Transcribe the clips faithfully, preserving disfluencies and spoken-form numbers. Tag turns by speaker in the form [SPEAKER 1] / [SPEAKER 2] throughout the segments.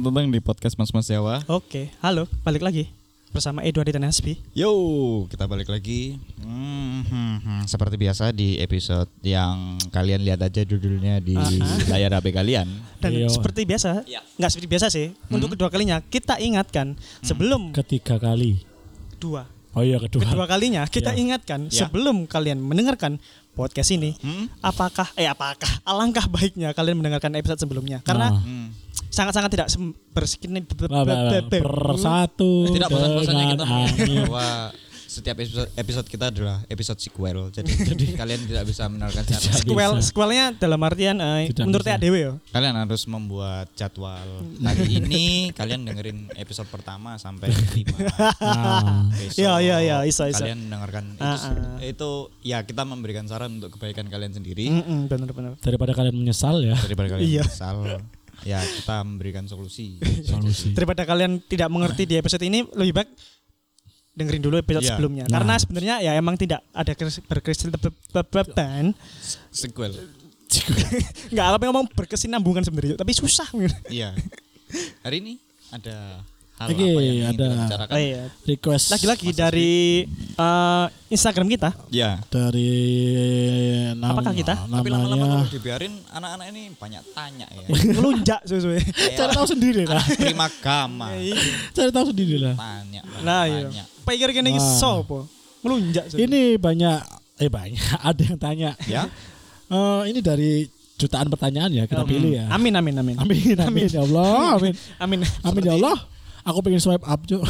[SPEAKER 1] Selamat datang di podcast Mas Mas Jawa.
[SPEAKER 2] Oke, halo, balik lagi bersama Edward dan Hasbi.
[SPEAKER 1] Yo, kita balik lagi. Hmm, hmm, hmm. Seperti biasa di episode yang kalian lihat aja judulnya di uh-huh. layar H P kalian.
[SPEAKER 2] Dan
[SPEAKER 3] Yo.
[SPEAKER 2] seperti biasa, ya. nggak seperti biasa sih. Hmm? Untuk kedua kalinya kita ingatkan hmm. sebelum
[SPEAKER 3] ketiga kali.
[SPEAKER 2] Dua.
[SPEAKER 3] Oh iya kedua.
[SPEAKER 2] Kedua kalinya kita ya. ingatkan
[SPEAKER 1] ya.
[SPEAKER 2] sebelum kalian mendengarkan podcast ini, hmm? apakah eh apakah alangkah baiknya kalian mendengarkan episode sebelumnya karena
[SPEAKER 3] nah.
[SPEAKER 2] hmm. sangat-sangat tidak sem- bersekin
[SPEAKER 3] bersatu.
[SPEAKER 1] Tidak bosan-bosannya kita bahwa setiap episode, episode kita adalah episode sequel. Jadi, jadi kalian tidak bisa mendengarkan
[SPEAKER 2] sequel. Sequelnya dalam artian uh, menurut A D W ya.
[SPEAKER 1] Kalian harus membuat jadwal. Hari ini kalian dengerin episode pertama sampai lima.
[SPEAKER 2] Nah. Iya iya iya, isa isa.
[SPEAKER 1] Kalian dengarkan itu, uh-uh. itu ya kita memberikan saran untuk kebaikan kalian sendiri.
[SPEAKER 2] Mm-mm, benar-benar.
[SPEAKER 3] Daripada kalian menyesal ya.
[SPEAKER 1] Daripada kalian
[SPEAKER 2] iya.
[SPEAKER 1] menyesal. Ya kita memberikan solusi.
[SPEAKER 3] Solusi.
[SPEAKER 2] Daripada kalian tidak mengerti di episode ini, lebih baik dengerin dulu episode yeah. sebelumnya. Nah. Karena sebenarnya ya emang tidak ada berkesinambungan.
[SPEAKER 1] Sequel.
[SPEAKER 2] Enggak apa ngomong berkesinambungan sebenarnya, tapi susah.
[SPEAKER 1] Iya. Hari ini ada hal
[SPEAKER 3] Oke,
[SPEAKER 1] apa yang
[SPEAKER 3] ada
[SPEAKER 2] oh, iya.
[SPEAKER 3] request
[SPEAKER 2] lagi-lagi dari uh, Instagram kita.
[SPEAKER 1] Ya.
[SPEAKER 3] Dari nama,
[SPEAKER 2] apakah kita?
[SPEAKER 3] Namanya,
[SPEAKER 1] tapi lama-lama kalau dibiarin anak-anak ini banyak tanya ya.
[SPEAKER 2] Ngelunjak sesuai.
[SPEAKER 3] Cari tahu sendiri lah.
[SPEAKER 1] Terima gama.
[SPEAKER 3] Cari tahu sendiri lah.
[SPEAKER 1] Tanya.
[SPEAKER 2] Nah, iya. Pikir kene iki sopo? Ngelunjak.
[SPEAKER 3] Ini banyak eh banyak ada yang tanya.
[SPEAKER 1] Ya.
[SPEAKER 3] Uh, ini dari jutaan pertanyaan ya kita um, pilih ya.
[SPEAKER 2] Amin amin amin.
[SPEAKER 3] Amin amin ya Allah. Amin.
[SPEAKER 2] Amin.
[SPEAKER 3] Amin ya Allah. Aku pengen swipe up, Cuk.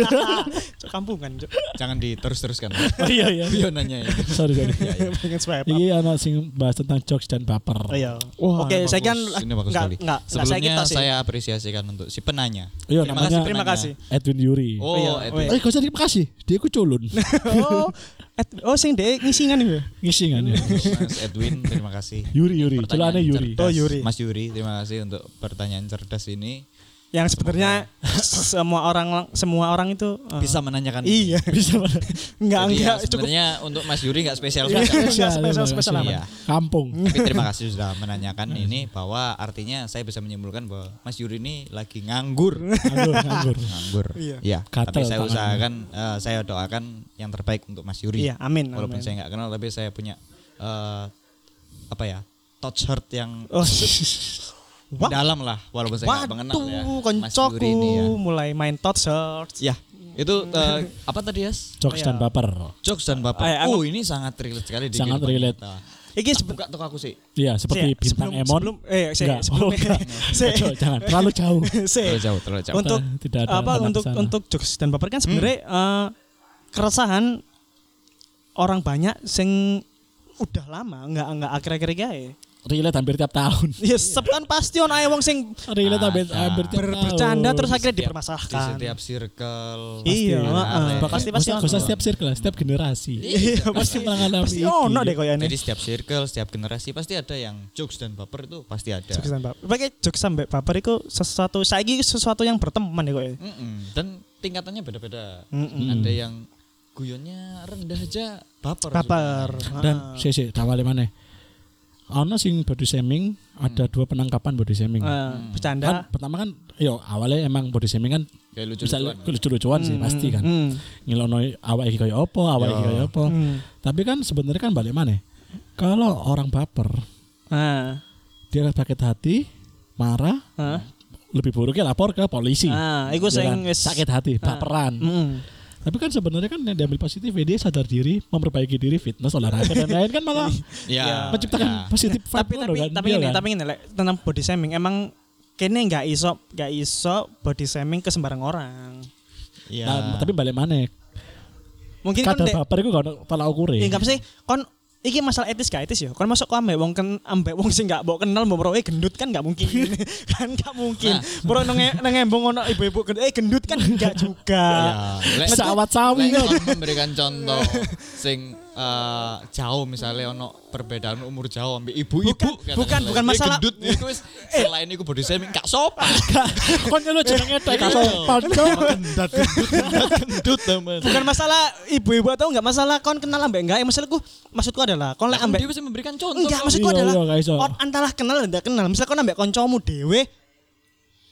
[SPEAKER 2] Cuk kampungan, Cuk.
[SPEAKER 1] Jangan diterus-teruskan.
[SPEAKER 3] Oh, iya iya.
[SPEAKER 1] Bio nanya ya.
[SPEAKER 3] Sorry sorry.
[SPEAKER 2] Ya, ya. Pengen swipe up.
[SPEAKER 3] Ini anak sing bahas tentang jokes dan baper.
[SPEAKER 2] Oh, iya.
[SPEAKER 3] Wah,
[SPEAKER 2] oke, saya kan
[SPEAKER 1] enggak
[SPEAKER 2] enggak
[SPEAKER 1] sebelumnya saya, saya apresiasikan untuk si penanya.
[SPEAKER 3] Iya,
[SPEAKER 1] terima
[SPEAKER 3] namanya
[SPEAKER 1] kasih
[SPEAKER 2] terima kasih.
[SPEAKER 3] Edwin Yuri.
[SPEAKER 1] Oh,
[SPEAKER 2] iya.
[SPEAKER 1] Edwin.
[SPEAKER 3] Eh, kok terima kasih. Dia ku culun.
[SPEAKER 2] oh, Ed, oh sing dek ngisingan ya.
[SPEAKER 3] Ngisingan ya.
[SPEAKER 1] Mas Edwin, terima kasih.
[SPEAKER 3] Yuri Yuri. Celana Yuri.
[SPEAKER 2] Oh, Yuri.
[SPEAKER 1] Mas Yuri, terima kasih untuk pertanyaan cerdas ini.
[SPEAKER 2] Yang sebenarnya semua orang semua orang itu uh,
[SPEAKER 1] bisa menanyakan.
[SPEAKER 2] Iya,
[SPEAKER 3] bisa.
[SPEAKER 2] Enggak enggak
[SPEAKER 1] ya, sebenarnya untuk Mas Yuri enggak spesial
[SPEAKER 2] banget.
[SPEAKER 3] Enggak
[SPEAKER 2] spesial spesial
[SPEAKER 1] iya.
[SPEAKER 3] Kampung.
[SPEAKER 1] Tapi terima kasih sudah menanyakan ini bahwa artinya saya bisa menyimpulkan bahwa Mas Yuri ini lagi nganggur.
[SPEAKER 3] Nganggur, nganggur.
[SPEAKER 1] nganggur.
[SPEAKER 2] Iya.
[SPEAKER 1] Ya, tapi saya
[SPEAKER 3] tangannya.
[SPEAKER 1] usahakan uh, saya doakan yang terbaik untuk Mas Yuri.
[SPEAKER 2] Iya, amin.
[SPEAKER 1] Walaupun
[SPEAKER 2] amin.
[SPEAKER 1] saya enggak kenal tapi saya punya uh, apa ya? Touch heart yang
[SPEAKER 2] oh.
[SPEAKER 1] dalam lah walaupun saya enggak mengenal ya.
[SPEAKER 2] Mas Yuri ini ya. Mulai main touch heart.
[SPEAKER 1] Ya. Itu uh, apa tadi ya?
[SPEAKER 3] Jokes dan baper.
[SPEAKER 1] Jokes dan baper.
[SPEAKER 2] Ay,
[SPEAKER 1] oh, ini sangat relate sekali di
[SPEAKER 3] sangat relate.
[SPEAKER 1] Kita.
[SPEAKER 2] Iki
[SPEAKER 1] buka toko aku sih.
[SPEAKER 3] Iya, seperti
[SPEAKER 2] se-
[SPEAKER 3] bintang
[SPEAKER 2] sebelum,
[SPEAKER 3] Emon.
[SPEAKER 2] Sebelum eh se-
[SPEAKER 3] enggak.
[SPEAKER 2] sebelum
[SPEAKER 3] oh, se- jangan terlalu jauh.
[SPEAKER 2] se-
[SPEAKER 1] terlalu jauh, terlalu jauh.
[SPEAKER 2] Untuk
[SPEAKER 3] tidak ada
[SPEAKER 2] apa untuk
[SPEAKER 3] sana.
[SPEAKER 2] untuk jokes dan baper kan sebenarnya hmm. uh, keresahan orang banyak sing udah lama enggak enggak akhir-akhir gawe.
[SPEAKER 3] Relate hampir tiap tahun.
[SPEAKER 2] Ya sep kan pasti ono ae wong sing
[SPEAKER 3] relate hampir hampir tiap
[SPEAKER 2] ber-
[SPEAKER 3] tahun.
[SPEAKER 2] bercanda terus akhirnya
[SPEAKER 1] Setiap-
[SPEAKER 2] dipermasalahkan.
[SPEAKER 1] Di setiap circle.
[SPEAKER 2] Iya,
[SPEAKER 1] ada.
[SPEAKER 2] pasti pasti
[SPEAKER 3] Gak usah setiap circle, setiap generasi.
[SPEAKER 2] Iya,
[SPEAKER 3] pasti mengalami
[SPEAKER 2] pasti
[SPEAKER 3] itu.
[SPEAKER 2] ono deh koyane.
[SPEAKER 1] Jadi setiap circle, setiap generasi pasti ada yang jokes dan baper itu pasti ada.
[SPEAKER 2] Jokes dan baper. Pakai jokes sampai baper itu sesuatu saiki sesuatu yang berteman ya koyo.
[SPEAKER 1] Mm-mm. Dan tingkatannya beda-beda.
[SPEAKER 2] Mm-mm.
[SPEAKER 1] Ada yang guyonnya rendah aja baper.
[SPEAKER 2] Baper.
[SPEAKER 3] Dan sih sih tawale maneh. Ono sing body shaming, hmm. ada dua penangkapan body shaming.
[SPEAKER 2] Uh,
[SPEAKER 1] hmm.
[SPEAKER 2] Bercanda.
[SPEAKER 3] Kan pertama kan yo awalnya emang body shaming kan
[SPEAKER 1] kayak
[SPEAKER 3] bisa
[SPEAKER 1] lucu-lucuan.
[SPEAKER 3] lucu-lucuan
[SPEAKER 2] hmm.
[SPEAKER 3] sih pasti kan.
[SPEAKER 2] Hmm.
[SPEAKER 3] Ngilono awak iki kaya apa, awak iki kaya apa.
[SPEAKER 2] Hmm.
[SPEAKER 3] Tapi kan sebenarnya kan balik maneh. Kalau orang baper,
[SPEAKER 2] Ah.
[SPEAKER 3] dia sakit hati, marah,
[SPEAKER 2] Ah.
[SPEAKER 3] lebih buruknya lapor ke polisi.
[SPEAKER 2] Ah, iku
[SPEAKER 3] Ya
[SPEAKER 2] sing
[SPEAKER 3] kan? sakit hati, baperan.
[SPEAKER 2] Heeh.
[SPEAKER 3] Tapi kan sebenarnya kan yang diambil positif dia sadar diri, memperbaiki diri, fitness, olahraga dan lain kan malah
[SPEAKER 1] Ya.
[SPEAKER 3] menciptakan
[SPEAKER 1] Ya.
[SPEAKER 3] positif vibe
[SPEAKER 2] Tapi
[SPEAKER 3] loh
[SPEAKER 2] tapi
[SPEAKER 3] kan.
[SPEAKER 2] tapi
[SPEAKER 3] Iya
[SPEAKER 2] ini
[SPEAKER 3] kan?
[SPEAKER 2] tapi ini lek tentang body shaming emang kene enggak iso enggak iso body shaming ke sembarang orang.
[SPEAKER 1] Iya.
[SPEAKER 3] Nah, tapi balik mana?
[SPEAKER 2] Mungkin kan
[SPEAKER 3] Kadar
[SPEAKER 2] dek,
[SPEAKER 3] baper itu gak ada tolak ukur
[SPEAKER 2] ya
[SPEAKER 3] ya.
[SPEAKER 2] enggak sih kon iki masalah etis gak etis ya. Kon masuk kok ambek wong ken ambek wong sing gak mbok kenal mbok eh gendut kan gak mungkin. Kan gak mungkin. Bro nang nang embong ono ibu-ibu gendut eh gendut kan enggak juga.
[SPEAKER 1] Ya. Lek-
[SPEAKER 3] Sawat sawi
[SPEAKER 1] lek
[SPEAKER 3] kan.
[SPEAKER 1] kon memberikan contoh sing uh, jauh misalnya ono perbedaan umur jauh ambil ibu-ibu
[SPEAKER 2] Bukan, bukan, bukan masalah-
[SPEAKER 1] gendut iku wis selain iku body shaming gak sopan.
[SPEAKER 3] Kon nyelo jenenge tek
[SPEAKER 1] Iya.
[SPEAKER 3] sopan.
[SPEAKER 1] Gendut gendut teman.
[SPEAKER 2] Bukan masalah ibu-ibu atau enggak masalah kon kenal ambek enggak. Maksudku maksudku adalah kon lek
[SPEAKER 1] Lah,
[SPEAKER 2] ambek
[SPEAKER 1] dia bisa memberikan contoh.
[SPEAKER 2] enggak
[SPEAKER 1] kok.
[SPEAKER 2] maksudku
[SPEAKER 3] Iya,
[SPEAKER 2] adalah
[SPEAKER 3] iya, gak iso.
[SPEAKER 2] kon antara kenal dan tidak kenal. Misal kon ambek kancamu dhewe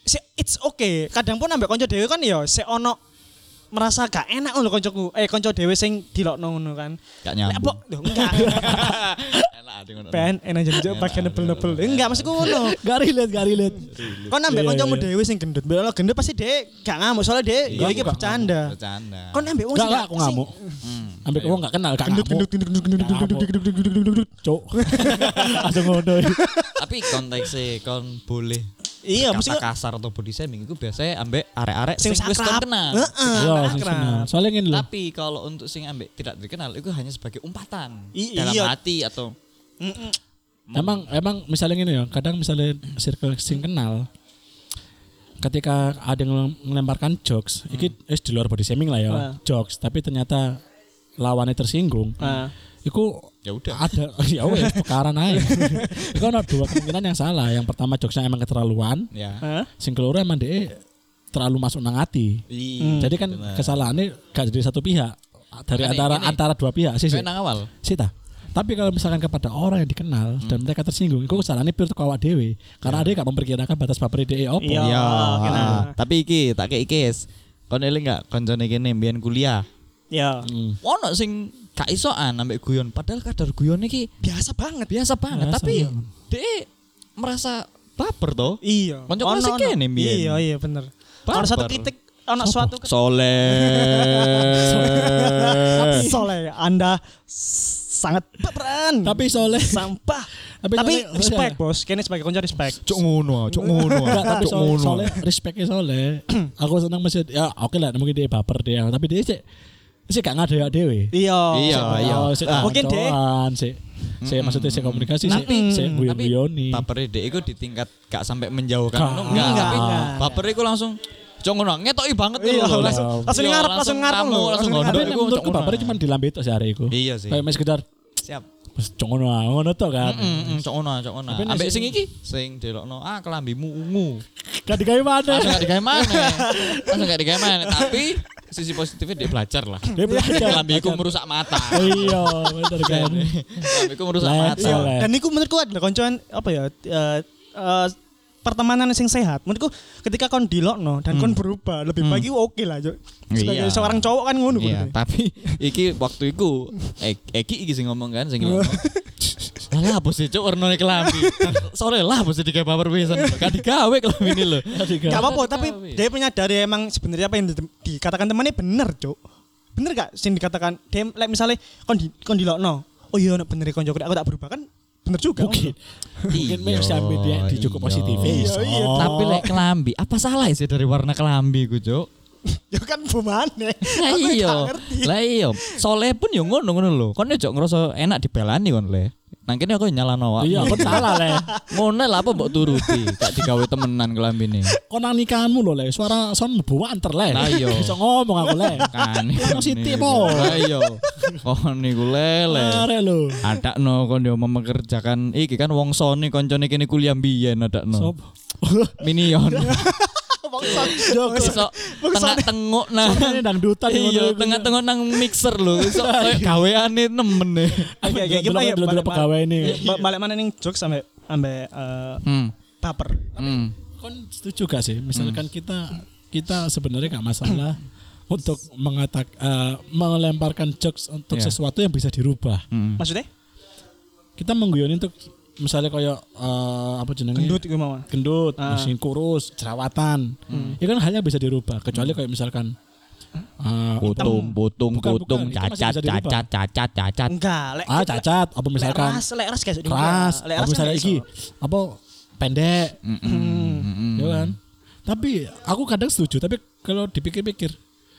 [SPEAKER 2] si, it's okay. Kadang pun ambek kanca dhewe kan ya sik ono merasa gak enak lho kancaku. Eh kanca dhewe sing dilokno ngono kan.
[SPEAKER 1] Gak
[SPEAKER 2] Lek
[SPEAKER 1] nyambung.
[SPEAKER 2] apa? Loh, enggak.
[SPEAKER 1] Enak ade ngono.
[SPEAKER 2] Ben enak jadi bagian nebel-nebel. Enggak maksudku ngono.
[SPEAKER 3] Gak relate, gak relate.
[SPEAKER 2] Kon ambek
[SPEAKER 3] Iya,
[SPEAKER 2] kancamu
[SPEAKER 3] iya.
[SPEAKER 2] dhewe sing gendut. Mbek ono gendut pasti dhek gak ngamuk soalnya dhek
[SPEAKER 1] Iya,
[SPEAKER 2] ya iki
[SPEAKER 3] aku gak
[SPEAKER 2] bercanda.
[SPEAKER 1] Bercanda.
[SPEAKER 2] Kon ambek wong
[SPEAKER 3] Gak,
[SPEAKER 2] sing
[SPEAKER 3] gak aku ngamuk.
[SPEAKER 1] Hmm.
[SPEAKER 3] Ambek wong gak kenal, gak
[SPEAKER 2] gendut
[SPEAKER 3] ngamuk.
[SPEAKER 2] gendut gendut gendut gendut gendut gendut gendut gendut gendut gendut.
[SPEAKER 3] Cuk. Langsung ngono.
[SPEAKER 1] Tapi konteksnya kon boleh
[SPEAKER 2] Iya,
[SPEAKER 1] kata
[SPEAKER 2] mesti
[SPEAKER 1] kasar atau body shaming itu biasanya ambek arek-arek
[SPEAKER 2] sing
[SPEAKER 1] sing wis kon
[SPEAKER 2] sakrap.
[SPEAKER 1] kenal.
[SPEAKER 2] Heeh.
[SPEAKER 3] Iya, sing
[SPEAKER 2] akrab.
[SPEAKER 3] kenal. Soalnya ngene lho.
[SPEAKER 1] Tapi kalau untuk sing ambek tidak dikenal itu hanya sebagai umpatan
[SPEAKER 2] I-
[SPEAKER 1] dalam
[SPEAKER 2] iya.
[SPEAKER 1] hati atau
[SPEAKER 2] Mm-mm.
[SPEAKER 3] Emang emang misalnya gini ya, kadang misalnya circle sing kenal ketika ada yang melemparkan jokes,
[SPEAKER 2] Hmm.
[SPEAKER 3] iki wis di luar body shaming lah ya,
[SPEAKER 2] Ah.
[SPEAKER 3] jokes, tapi ternyata lawannya tersinggung.
[SPEAKER 2] Ah.
[SPEAKER 3] Iku
[SPEAKER 1] ya udah.
[SPEAKER 3] ada ya wes perkara naik. Iku ada dua kemungkinan yang salah. Yang pertama jokesnya emang keterlaluan,
[SPEAKER 1] Ya.
[SPEAKER 2] Hah?
[SPEAKER 3] sing keloro emang dia terlalu masuk nang hati.
[SPEAKER 1] Iya.
[SPEAKER 3] Jadi kan
[SPEAKER 1] benar.
[SPEAKER 3] kesalahannya gak dari satu pihak, dari
[SPEAKER 1] Makanya
[SPEAKER 3] antara
[SPEAKER 1] gini.
[SPEAKER 3] antara dua pihak sih sih.
[SPEAKER 1] Kayak nang awal.
[SPEAKER 3] Sita. Tapi kalau misalkan kepada orang yang dikenal dan mereka tersinggung, itu kesalahannya pure ke awak dewe. Karena dia gak memperkirakan batas baper dia opo.
[SPEAKER 2] Iya.
[SPEAKER 1] Iya.
[SPEAKER 2] kena.
[SPEAKER 1] Tapi iki tak kei kes. Kon eling gak koncone kene mbiyen kuliah.
[SPEAKER 2] Ya.
[SPEAKER 3] Hmm.
[SPEAKER 1] Ono sing gak isoan ambek guyon padahal kadar guyon iki
[SPEAKER 2] Biasa banget.
[SPEAKER 1] biasa banget
[SPEAKER 3] Biasa,
[SPEAKER 1] tapi
[SPEAKER 3] iya.
[SPEAKER 1] dia merasa baper toh.
[SPEAKER 2] Iya.
[SPEAKER 1] Konco
[SPEAKER 2] Ono,
[SPEAKER 1] sing
[SPEAKER 2] ono.
[SPEAKER 1] kene mbiyen.
[SPEAKER 2] Iya, iya bener.
[SPEAKER 1] Baper.
[SPEAKER 2] Ono satu titik ono suatu
[SPEAKER 1] Soleh.
[SPEAKER 2] soleh Anda sangat baperan.
[SPEAKER 3] Tapi soleh.
[SPEAKER 2] sampah.
[SPEAKER 3] Tapi
[SPEAKER 2] Tapi
[SPEAKER 3] soleh-
[SPEAKER 2] respect bos, kene sebagai konco respect.
[SPEAKER 1] Cuk ngono, cuk ngono.
[SPEAKER 3] Enggak, tapi
[SPEAKER 1] Cuk
[SPEAKER 3] soalnya,
[SPEAKER 1] ngono.
[SPEAKER 3] soalnya respectnya soalnya aku senang masih ya oke lah mungkin dia baper dia tapi dia sih sih gak ngada ya dewe.
[SPEAKER 2] Iya.
[SPEAKER 1] Iya, iya.
[SPEAKER 3] sih
[SPEAKER 2] Ah, mungkin deh.
[SPEAKER 3] sih saya maksudnya saya komunikasi sih
[SPEAKER 1] Tapi-
[SPEAKER 3] saya
[SPEAKER 1] Tapi
[SPEAKER 3] guyon-guyoni.
[SPEAKER 1] bapernya dia itu di tingkat gak sampai menjauhkan.
[SPEAKER 3] Gak.
[SPEAKER 1] Ngono, Enggak,
[SPEAKER 2] Enggak,
[SPEAKER 1] tapi
[SPEAKER 2] enggak.
[SPEAKER 1] bapernya itu langsung cuk ngono, ngetoki banget
[SPEAKER 2] Iya,
[SPEAKER 1] lho.
[SPEAKER 2] langsung langsung
[SPEAKER 1] Iya,
[SPEAKER 2] ngarep, langsung ngarep
[SPEAKER 1] kamu,
[SPEAKER 2] lho,
[SPEAKER 1] langsung
[SPEAKER 2] langsung
[SPEAKER 1] gondok
[SPEAKER 3] Tapi
[SPEAKER 1] iku
[SPEAKER 3] menurutku
[SPEAKER 1] cuk ngono.
[SPEAKER 3] bapernya cuma di lambe itu sehari itu.
[SPEAKER 1] Iya sih.
[SPEAKER 3] Kayak mes sekedar
[SPEAKER 1] Siap.
[SPEAKER 3] wis cok ngono ah, ngono to kan.
[SPEAKER 1] Heeh, cuk ngono, cuk ngono.
[SPEAKER 3] Tapi nek
[SPEAKER 1] Ambek
[SPEAKER 3] sing-
[SPEAKER 1] sing iki sing delokno ah kelambimu ungu.
[SPEAKER 3] Gak digawe mana.
[SPEAKER 1] Langsung gak digawe mana. Langsung gak digawe mana. Tapi sisi positifnya dia belajar lah.
[SPEAKER 3] Dia belajar.
[SPEAKER 1] Kelambiku merusak mata.
[SPEAKER 3] Iya, bener kan.
[SPEAKER 1] Kelambiku merusak
[SPEAKER 3] Lah,
[SPEAKER 1] mata.
[SPEAKER 3] iya. Soleh.
[SPEAKER 2] Dan niku menurutku adalah koncoan apa ya eh, eh, pertemanan sing sehat. Menurutku ketika kon dilokno dan kon berubah lebih baik itu oke lah, Cuk. Sebagai
[SPEAKER 1] Iya.
[SPEAKER 2] seorang cowok kan ngono
[SPEAKER 1] Iya,
[SPEAKER 2] bener.
[SPEAKER 1] tapi iki waktu iku Ek- Eki iki sing ngomong kan sing ngomong. Lah apa sih cuk warnane kelambi. Sore lah apa sih digawe baper pisan. Gak digawe kelambi ini lho.
[SPEAKER 2] Gak apa-apa,
[SPEAKER 1] Gak
[SPEAKER 2] tapi
[SPEAKER 1] dikawin.
[SPEAKER 2] dia menyadari emang sebenarnya apa yang di- dikatakan temannya bener, Cuk. Bener gak sing dikatakan dia like misalnya kon di kon dilokno. Oh iya nek bener konco aku tak berubah kan bener juga.
[SPEAKER 3] Mungkin. Mungkin
[SPEAKER 1] Iya,
[SPEAKER 3] bisa dia di cukup
[SPEAKER 1] iya.
[SPEAKER 3] positif.
[SPEAKER 2] Iya, iya.
[SPEAKER 1] Tapi lek kelambi, apa salah sih dari warna kelambi ku, Cuk?
[SPEAKER 2] Ya kan bumane.
[SPEAKER 1] Lah
[SPEAKER 2] Aku
[SPEAKER 1] iya.
[SPEAKER 2] gak ngerti.
[SPEAKER 1] Lah iya. Soleh pun yo ngono ngono lho. Kon yo ngerasa enak dibelani kon le. Nang kene aku nyalano awak.
[SPEAKER 3] Iya, aku salah le.
[SPEAKER 1] Ngono lah apa mbok turuti, gak digawe temenan kelambine.
[SPEAKER 3] Kau nang nikahanmu loh le, suara son mlebu anter le.
[SPEAKER 1] Lah iya.
[SPEAKER 3] Bisa ngomong aku le.
[SPEAKER 1] Kan.
[SPEAKER 3] Ono siti po.
[SPEAKER 1] Lah iya. Oh niku lele.
[SPEAKER 3] Are lo.
[SPEAKER 1] Adakno kon yo mempekerjakan iki kan wong Sony koncone kene kuliah mbiyen adakno.
[SPEAKER 3] Sob.
[SPEAKER 1] Minion.
[SPEAKER 2] Bangsat.
[SPEAKER 1] Iso tengah-tengok nang
[SPEAKER 3] Soalnya dangdutan
[SPEAKER 1] iya, tengah-tengok nang mixer lho. Iso koyo gaweane nemen e.
[SPEAKER 2] Oke, oke, gimana ya?
[SPEAKER 3] Dulu
[SPEAKER 2] Balik-
[SPEAKER 3] pegawai ini.
[SPEAKER 2] ba- Balik mana ning jokes sampai sampai eh,
[SPEAKER 1] Hmm.
[SPEAKER 2] baper.
[SPEAKER 1] Hmm.
[SPEAKER 3] Kon setuju gak sih? Misalkan kita kita sebenarnya gak masalah untuk mengatak eh, melemparkan jokes untuk
[SPEAKER 1] Iya.
[SPEAKER 3] sesuatu yang bisa dirubah.
[SPEAKER 1] Hmm.
[SPEAKER 2] Maksudnya?
[SPEAKER 3] Kita mengguyoni untuk misalnya kayak eh, apa jenenge?
[SPEAKER 2] Gendut iku mau.
[SPEAKER 3] gendut,
[SPEAKER 2] Ah.
[SPEAKER 3] mesin kurus, jerawatan.
[SPEAKER 1] Hmm.
[SPEAKER 3] Ya kan hanya bisa dirubah kecuali kayak misalkan eh,
[SPEAKER 1] Putung, putung,
[SPEAKER 3] Bukan,
[SPEAKER 1] putung,
[SPEAKER 3] bukan. Itu masih
[SPEAKER 1] cacat,
[SPEAKER 3] bisa dirubah.
[SPEAKER 1] cacat, cacat, cacat.
[SPEAKER 2] Enggak, lek
[SPEAKER 3] ah cacat apa misalkan
[SPEAKER 2] lek ras, lek ras guys.
[SPEAKER 3] keras,
[SPEAKER 2] Lek
[SPEAKER 3] apa
[SPEAKER 2] ras
[SPEAKER 3] misalnya
[SPEAKER 2] kan
[SPEAKER 3] iki
[SPEAKER 2] iso.
[SPEAKER 3] apa pendek,
[SPEAKER 1] Mm-mm, mm-mm.
[SPEAKER 3] ya kan? Tapi aku kadang setuju, tapi kalau dipikir-pikir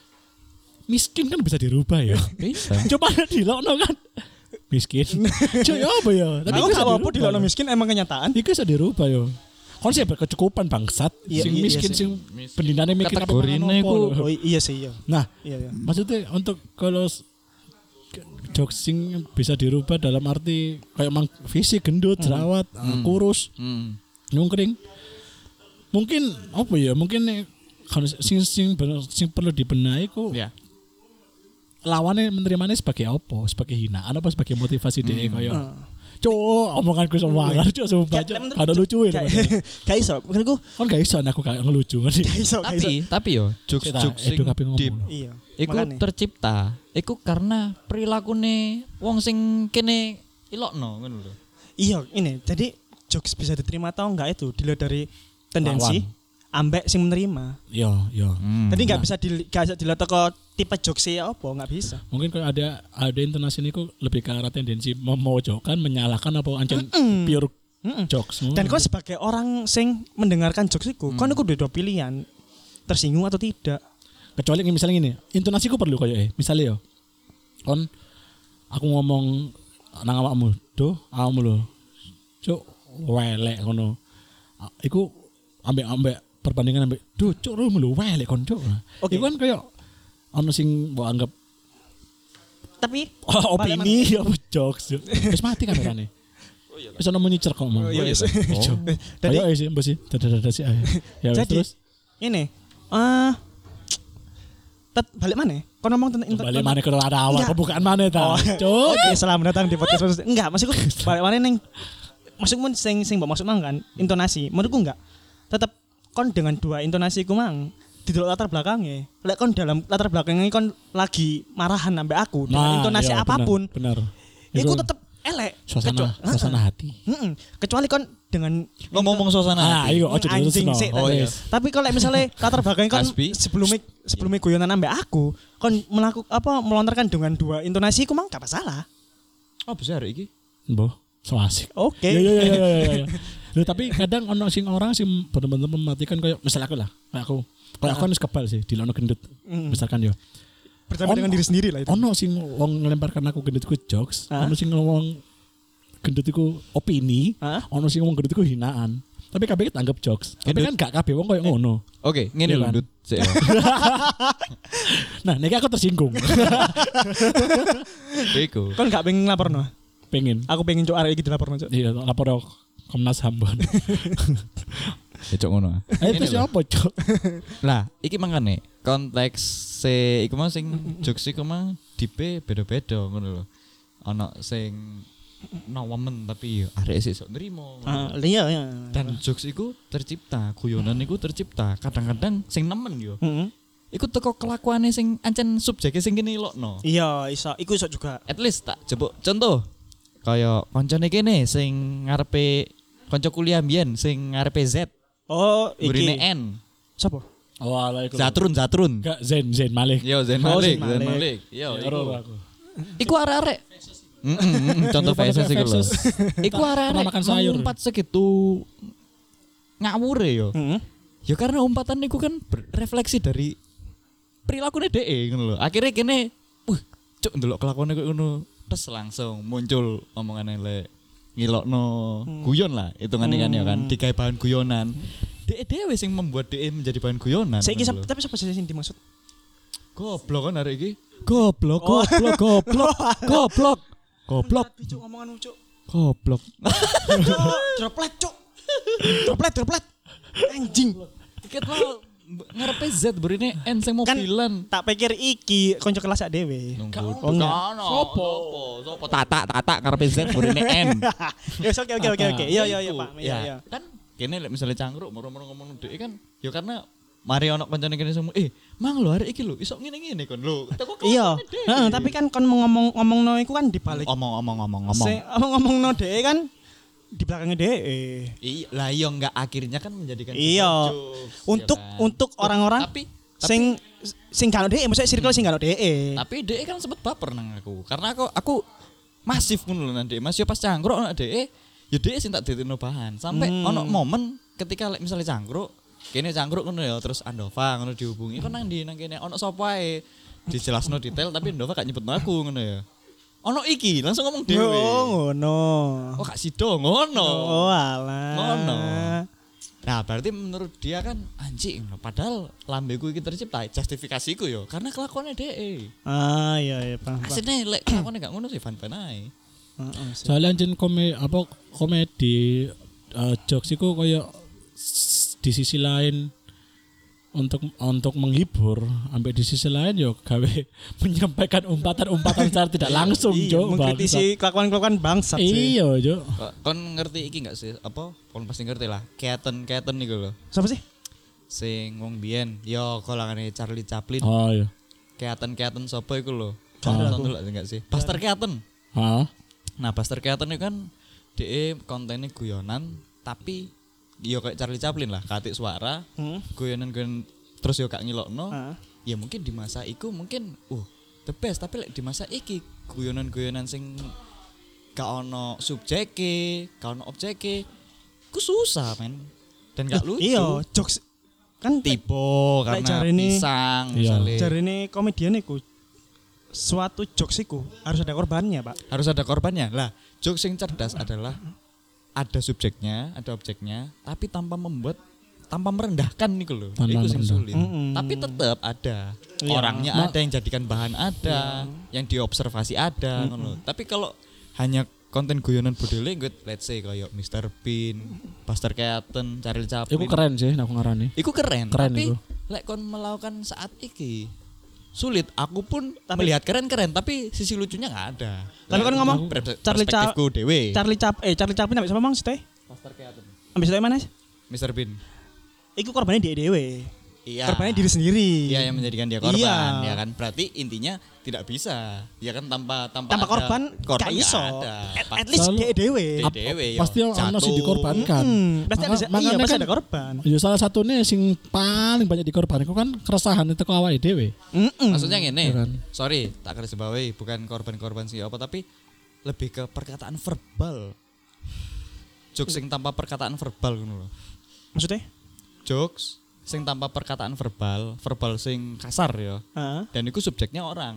[SPEAKER 3] miskin kan bisa dirubah ya.
[SPEAKER 1] Bisa.
[SPEAKER 3] Coba dilokno kan miskin. Cuy apa ya? Tapi
[SPEAKER 2] Aku
[SPEAKER 3] bisa
[SPEAKER 2] gak apa-apa
[SPEAKER 3] dirubah.
[SPEAKER 2] dilokno miskin emang kenyataan.
[SPEAKER 3] Iku bisa dirubah yo. Konsep berkecukupan bangsat,
[SPEAKER 2] Iya,
[SPEAKER 3] sing
[SPEAKER 2] iya,
[SPEAKER 3] miskin
[SPEAKER 2] iya sih.
[SPEAKER 3] sing pendinane mikir apa
[SPEAKER 1] Kategorine
[SPEAKER 3] mangan apa
[SPEAKER 1] iku-
[SPEAKER 3] lho.
[SPEAKER 2] Oh iya sih iya.
[SPEAKER 3] Nah,
[SPEAKER 2] Iya iya.
[SPEAKER 3] maksudnya untuk kalau s- ke- jokes sing bisa dirubah dalam arti kayak mang fisik gendut, jerawat, uh, kurus,
[SPEAKER 1] Hmm.
[SPEAKER 3] nyungkring. Mungkin apa ya? Mungkin nih, kalau sing sing bener- sing perlu dibenahi ku
[SPEAKER 1] Ya.
[SPEAKER 3] lawannya menerimanya sebagai apa? Sebagai hinaan apa sebagai motivasi dia kayak
[SPEAKER 2] Hmm.
[SPEAKER 3] Cuk, omonganku semangar cuk sumpah cuk. Kada lucu ya.
[SPEAKER 2] Gak iso, menurutku
[SPEAKER 3] Kan gak iso aku gak ngelucu ngerti.
[SPEAKER 2] gak iso, gak iso.
[SPEAKER 1] Tapi tapi yo jokes-jokes sing
[SPEAKER 3] Edo kabeh ngomong.
[SPEAKER 1] deep
[SPEAKER 2] Iya.
[SPEAKER 1] iku
[SPEAKER 2] Makane.
[SPEAKER 1] tercipta iku karena perilakune wong sing kene ilokno ngono lho.
[SPEAKER 2] Iya, ini. Jadi jokes bisa diterima atau enggak itu dilihat dari tendensi ambek sing menerima.
[SPEAKER 3] Yo, yo.
[SPEAKER 1] Hmm.
[SPEAKER 2] Jadi nggak bisa di, gak bisa dilihat kok tipe jokesnya apa, nggak bisa.
[SPEAKER 3] Mungkin kalau ada ada intonasi ini kok lebih ke arah tendensi memojokkan, menyalahkan apa ancen pure
[SPEAKER 2] Mm-mm.
[SPEAKER 3] jokes.
[SPEAKER 2] Dan kau sebagai orang sing mendengarkan jokes itu, kau niku dua pilihan, tersinggung atau tidak.
[SPEAKER 3] Kecuali misalnya gini, intonasiku perlu koyo eh. Misalnya yo. Kon aku ngomong nang awakmu, "Duh, awakmu lho. Cuk, welek ngono." Iku ambek-ambek perbandingan ambek, "Duh, cuk lu lho welek kon, cuk."
[SPEAKER 2] Oke.
[SPEAKER 3] Iku kan koyo ono sing mbok anggap
[SPEAKER 2] Tapi
[SPEAKER 3] oh, opini apa jokes. Cuk. Wis mati kamerane. Oh iya. Wis ono menyicer kok, Mang.
[SPEAKER 2] Oh, iya, iya.
[SPEAKER 3] Oh.
[SPEAKER 2] Jadi-
[SPEAKER 3] Ayo sih, mbok sih. Dadah-dadah sih. ayo. Ya wis,
[SPEAKER 2] jadi
[SPEAKER 3] terus
[SPEAKER 2] ini, eh, tet balik mana? Kau ngomong tentang inter-
[SPEAKER 3] balik mana ke ada awal
[SPEAKER 2] Enggak.
[SPEAKER 3] pembukaan mana ta?
[SPEAKER 2] Oh,
[SPEAKER 3] Cuk.
[SPEAKER 2] Oke, selamat datang di podcast maksud. Enggak, maksudku balik mana neng? Maksudmu sing sing mbok maksud mang kan intonasi. Menurutku enggak. Tetap kon dengan dua intonasi ku mang di latar belakangnya. Lek kon dalam latar belakangnya kon lagi marahan ambek aku dengan intonasi
[SPEAKER 3] iya,
[SPEAKER 2] apapun.
[SPEAKER 3] Benar.
[SPEAKER 2] Iku
[SPEAKER 3] Iku
[SPEAKER 2] tetep elek.
[SPEAKER 3] suasana
[SPEAKER 2] Kecuali-
[SPEAKER 3] suasana
[SPEAKER 2] Heeh.
[SPEAKER 3] hati.
[SPEAKER 2] Mm-mm. Kecuali kon dengan
[SPEAKER 1] Ngomong-ngomong suasana
[SPEAKER 3] Ah,
[SPEAKER 1] hati.
[SPEAKER 3] iya ojo
[SPEAKER 2] anjing
[SPEAKER 3] diterusno.
[SPEAKER 2] sih.
[SPEAKER 1] Oh,
[SPEAKER 2] tadi.
[SPEAKER 1] iya.
[SPEAKER 2] Tapi kalau misalnya latar belakang kan
[SPEAKER 1] Aspi.
[SPEAKER 2] sebelumnya sebelumnya guyonan ambek aku, kon melakukan apa melontarkan dengan dua intonasi ku mang gak masalah.
[SPEAKER 1] Oh, besar iki.
[SPEAKER 3] Mbah, so asik.
[SPEAKER 2] Oke.
[SPEAKER 3] Iya iya iya iya iya. iya. Loh, tapi kadang ono sing orang sing bener-bener mematikan kayak misal aku lah, kayak aku. Kayak aku kan wis kebal sih di lono gendut.
[SPEAKER 2] Mm.
[SPEAKER 3] Misalkan yo.
[SPEAKER 2] Pertama dengan
[SPEAKER 3] Ono-
[SPEAKER 2] diri sendiri lah itu.
[SPEAKER 3] Ono sing wong ngelemparkan aku gendutku jokes,
[SPEAKER 2] Hah?
[SPEAKER 3] ono sing ngomong gendutiku opini,
[SPEAKER 2] Hah?
[SPEAKER 3] ono sing ngomong gendutiku hinaan. Tapi kabeh kita anggap jokes. Tapi kan gak kabeh wong koyo ngono.
[SPEAKER 1] Oke, ngene
[SPEAKER 3] Iya
[SPEAKER 1] lho,
[SPEAKER 3] kan?
[SPEAKER 1] Dut. Sik ya.
[SPEAKER 3] Nah, niki aku tersinggung.
[SPEAKER 1] Iku.
[SPEAKER 2] Kon gak pengen laporno.
[SPEAKER 3] Pengen.
[SPEAKER 2] Aku pengen cok arek iki dilaporno cok.
[SPEAKER 3] Iya, lapor Komnas H A M.
[SPEAKER 1] Ya cok ngono.
[SPEAKER 3] Eh
[SPEAKER 1] Ngene
[SPEAKER 3] itu
[SPEAKER 1] lho.
[SPEAKER 3] siapa, Cok?
[SPEAKER 1] Lah, iki mangane konteks se iku mah sing jokes iku mah dipe beda-beda ngono lho. Ana sing nawamen tapi ya arek sik sok nrimo. ngono
[SPEAKER 2] Ah,
[SPEAKER 1] lho.
[SPEAKER 2] iya iya.
[SPEAKER 1] Dan jokes iku tercipta, guyonan iku tercipta. Kadang-kadang sing nemen yo.
[SPEAKER 2] Heeh.
[SPEAKER 1] Iku teko kelakuane sing ancen subjeke sing kene ilokno.
[SPEAKER 2] Iya, iso. Iku iso juga.
[SPEAKER 1] At least tak jebuk contoh. Kaya koncone kene sing ngarepe kanca kuliah mbiyen sing ngarepe Z,
[SPEAKER 2] Oh,
[SPEAKER 1] burine
[SPEAKER 2] iki.
[SPEAKER 1] N.
[SPEAKER 2] Sopo?
[SPEAKER 3] Oh, ala iku.
[SPEAKER 1] Zatrun, Zatrun.
[SPEAKER 3] Enggak Zen Zen Malik.
[SPEAKER 1] Yo Zain
[SPEAKER 2] Oh,
[SPEAKER 1] Malik,
[SPEAKER 2] Zain
[SPEAKER 1] Zain
[SPEAKER 2] Malik.
[SPEAKER 1] Malik. Yo
[SPEAKER 3] Ero
[SPEAKER 1] iku.
[SPEAKER 3] aku.
[SPEAKER 1] Iku arek-arek. Mm, mm, mm, contoh
[SPEAKER 3] Iku
[SPEAKER 1] faces iku lho.
[SPEAKER 3] faces.
[SPEAKER 1] Iku arek-arek
[SPEAKER 3] Pernah makan sayur.
[SPEAKER 1] ngumpat segitu ngawure yo.
[SPEAKER 2] Heeh.
[SPEAKER 1] Ya karena umpatan niku kan berefleksi dari perilakune dhek ngono lho. Akhirnya kene, wah, cuk ndelok kelakuane koyo ngono, terus langsung muncul omongane lek ngilokno guyon lah hitungane kan ya kan, digawe bahan guyonan. Dhek dhewe sing membuat dhek menjadi bahan guyonan.
[SPEAKER 2] Saiki
[SPEAKER 1] ngono lho.
[SPEAKER 2] sap- tapi sapa sih sing dimaksud?
[SPEAKER 1] Goblok kan arek iki. Goblok, goblok, goblok, goblok. Goblok,
[SPEAKER 2] Tapi cuk ngomongan cuk.
[SPEAKER 1] goblok.
[SPEAKER 2] Cuk, droplet cuk. Droplet, droplet. Anjing.
[SPEAKER 1] Tiket lo ngarepe Z burine N sing
[SPEAKER 2] Kan
[SPEAKER 1] mobilan.
[SPEAKER 2] tak pikir iki konco kelas sak dhewe.
[SPEAKER 1] Nunggu.
[SPEAKER 2] Oh, enggak.
[SPEAKER 1] Sopo? Sopo? Tata, tata ngarepe Z burine N.
[SPEAKER 2] Ya oke oke oke oke. Iya iya iya Pak. Iya iya.
[SPEAKER 1] Kan kene lek misale cangkruk moro-moro ngomong dhek kan ya karena mari ono kancane kene semua eh mang lho arek iki lho iso ngene-ngene kon lho. Teko
[SPEAKER 2] Iya. Heeh, tapi kan kon ngomong ngomongno iku kan dibalik.
[SPEAKER 1] omong-omong ngomong-ngomong.
[SPEAKER 2] Sing ngomongno dhek kan di belakangnya dhek.
[SPEAKER 1] Iya, lah iya enggak akhirnya kan menjadikan
[SPEAKER 2] Iya.
[SPEAKER 1] sebuah jokes,
[SPEAKER 2] Untuk
[SPEAKER 1] ya kan?
[SPEAKER 2] untuk orang-orang
[SPEAKER 1] tapi
[SPEAKER 2] sing sing gak ono dhek, maksudnya circle sing gak ono dhek.
[SPEAKER 1] tapi dhek kan sempet baper nang aku karena aku aku masif ngono lho nang dhek. Mas yo pas cangkruk ono dhek ya dhek sing tak ditino bahan sampai
[SPEAKER 2] Hmm.
[SPEAKER 1] ono momen ketika lek misalnya cangkruk kene cangkruk ngono ya terus Andova ngono dihubungi kon nang ndi nang kene ono sapa ae dijelasno detail tapi Andova gak nyebutno aku ngono ya ono iki langsung ngomong dhewe
[SPEAKER 2] Oh ngono.
[SPEAKER 1] oh gak sido ngono
[SPEAKER 2] Oh alah.
[SPEAKER 1] ngono nah berarti menurut dia kan anjing padahal lambeku iki tercipta justifikasiku yo karena kelakuannya dhek
[SPEAKER 2] Ah iya iya paham. paham.
[SPEAKER 1] asline lek kelakuannya gak ngono sih fan-fan ae
[SPEAKER 2] Heeh, sih.
[SPEAKER 3] Soalnya anjen kome apa komedi uh, jokes iku koyo s- di sisi lain untuk untuk menghibur, sampai di sisi lain yo gawe menyampaikan umpatan-umpatan secara tidak langsung,
[SPEAKER 2] Iya,
[SPEAKER 3] Jo.
[SPEAKER 2] mengkritisi kelakuan-kelakuan bangsat sih.
[SPEAKER 3] Iya, Jo.
[SPEAKER 1] Kok- Kon ngerti iki enggak sih? Apa? Kon pasti ngerti lah. Keaton-keaton niku lho.
[SPEAKER 2] Siapa sih?
[SPEAKER 1] Sing wong biyen yo golongane Charlie Chaplin.
[SPEAKER 3] Oh iya.
[SPEAKER 1] Keaton-keaton sapa iku lho?
[SPEAKER 2] Gak ada
[SPEAKER 1] Nonton
[SPEAKER 2] aku.
[SPEAKER 1] dulu enggak sih? Buster Keaton.
[SPEAKER 3] Hah?
[SPEAKER 1] Nah, Buster Keaton itu kan dia kontennya guyonan tapi yo kayak Charlie Chaplin lah, katik suara,
[SPEAKER 2] Hmm.
[SPEAKER 1] guyonan-guyonan terus yo gak ngilokno.
[SPEAKER 2] Ah.
[SPEAKER 1] Ya mungkin di masa iku mungkin uh the best, tapi like, di masa iki guyonan-guyonan sing gak ono subjeke, gak ono objeke, ku susah men. Dan gak lucu.
[SPEAKER 2] Iya, jokes kan
[SPEAKER 1] Tiba
[SPEAKER 2] Lek
[SPEAKER 1] karena
[SPEAKER 2] jarine-
[SPEAKER 1] pisang
[SPEAKER 3] Iya.
[SPEAKER 1] misalnya.
[SPEAKER 2] jarine komedian iku suatu jokes iku harus ada korbannya, Pak.
[SPEAKER 1] Harus ada korbannya. Lah, jokes yang cerdas adalah ada subjeknya, ada objeknya, tapi tanpa membuat tanpa merendahkan nih loh.
[SPEAKER 3] Tanpa
[SPEAKER 1] Itu sing
[SPEAKER 3] merendah.
[SPEAKER 1] sulit.
[SPEAKER 2] Mm-mm.
[SPEAKER 1] Tapi tetap ada.
[SPEAKER 2] Iya.
[SPEAKER 1] Orangnya
[SPEAKER 3] Ma-
[SPEAKER 1] ada yang jadikan bahan ada, yang diobservasi ada ngono. Tapi kalau hanya konten guyonan body language, let's say kayak mister Bean, Buster Keaton, Charlie Chaplin.
[SPEAKER 3] Iku keren sih aku ngarani.
[SPEAKER 1] Iku keren,
[SPEAKER 3] Keren
[SPEAKER 1] tapi
[SPEAKER 3] iku.
[SPEAKER 1] lek kon melakukan saat iki sulit. Aku pun
[SPEAKER 2] Tapi-
[SPEAKER 1] melihat keren-keren, tapi sisi lucunya nggak ada.
[SPEAKER 2] Tapi kan ngomong
[SPEAKER 1] Pers-
[SPEAKER 2] Charlie Cha-
[SPEAKER 1] perspektifku dewe.
[SPEAKER 2] Charlie Chap eh Charlie Chaplin ambek siapa Mang sih teh?
[SPEAKER 1] Buster Keaton,
[SPEAKER 2] Ambek siapa mana?
[SPEAKER 1] mister Bean.
[SPEAKER 2] Iku korbannya dia dewe.
[SPEAKER 1] Iya.
[SPEAKER 2] Korbannya diri sendiri.
[SPEAKER 1] Iya, yang menjadikan dia korban,
[SPEAKER 2] Iya.
[SPEAKER 1] ya kan? Berarti intinya tidak bisa, ya kan tanpa tanpa,
[SPEAKER 2] Tanpa
[SPEAKER 1] ada-
[SPEAKER 2] korban,
[SPEAKER 1] korban
[SPEAKER 2] gak
[SPEAKER 1] nggak
[SPEAKER 2] iso.
[SPEAKER 1] ada.
[SPEAKER 2] At,
[SPEAKER 1] Pa-
[SPEAKER 2] at least
[SPEAKER 3] Selalu-
[SPEAKER 2] dia dewe.
[SPEAKER 1] Dia
[SPEAKER 3] Ap-
[SPEAKER 1] dewe, yo,
[SPEAKER 3] pasti ono sing
[SPEAKER 1] jatuh.
[SPEAKER 3] dikorbankan.
[SPEAKER 2] Hmm, pasti ada
[SPEAKER 3] Maka-
[SPEAKER 2] iya,
[SPEAKER 3] makanya
[SPEAKER 2] pasti
[SPEAKER 3] kan-
[SPEAKER 2] ada korban.
[SPEAKER 3] Ya salah satunya sing paling banyak dikorbankan itu kan keresahan itu ke awake dhewe.
[SPEAKER 2] Mm-mm.
[SPEAKER 1] Maksudnya gini,
[SPEAKER 3] Iya kan?
[SPEAKER 1] sorry, tak garis bawahi, bukan korban-korban sih apa, tapi lebih ke perkataan verbal. Jokes sing tanpa perkataan verbal ngono lho.
[SPEAKER 2] Maksudnya?
[SPEAKER 1] Jokes sing tanpa perkataan verbal, verbal sing kasar ya.
[SPEAKER 2] Heeh.
[SPEAKER 1] Dan itu subjeknya orang.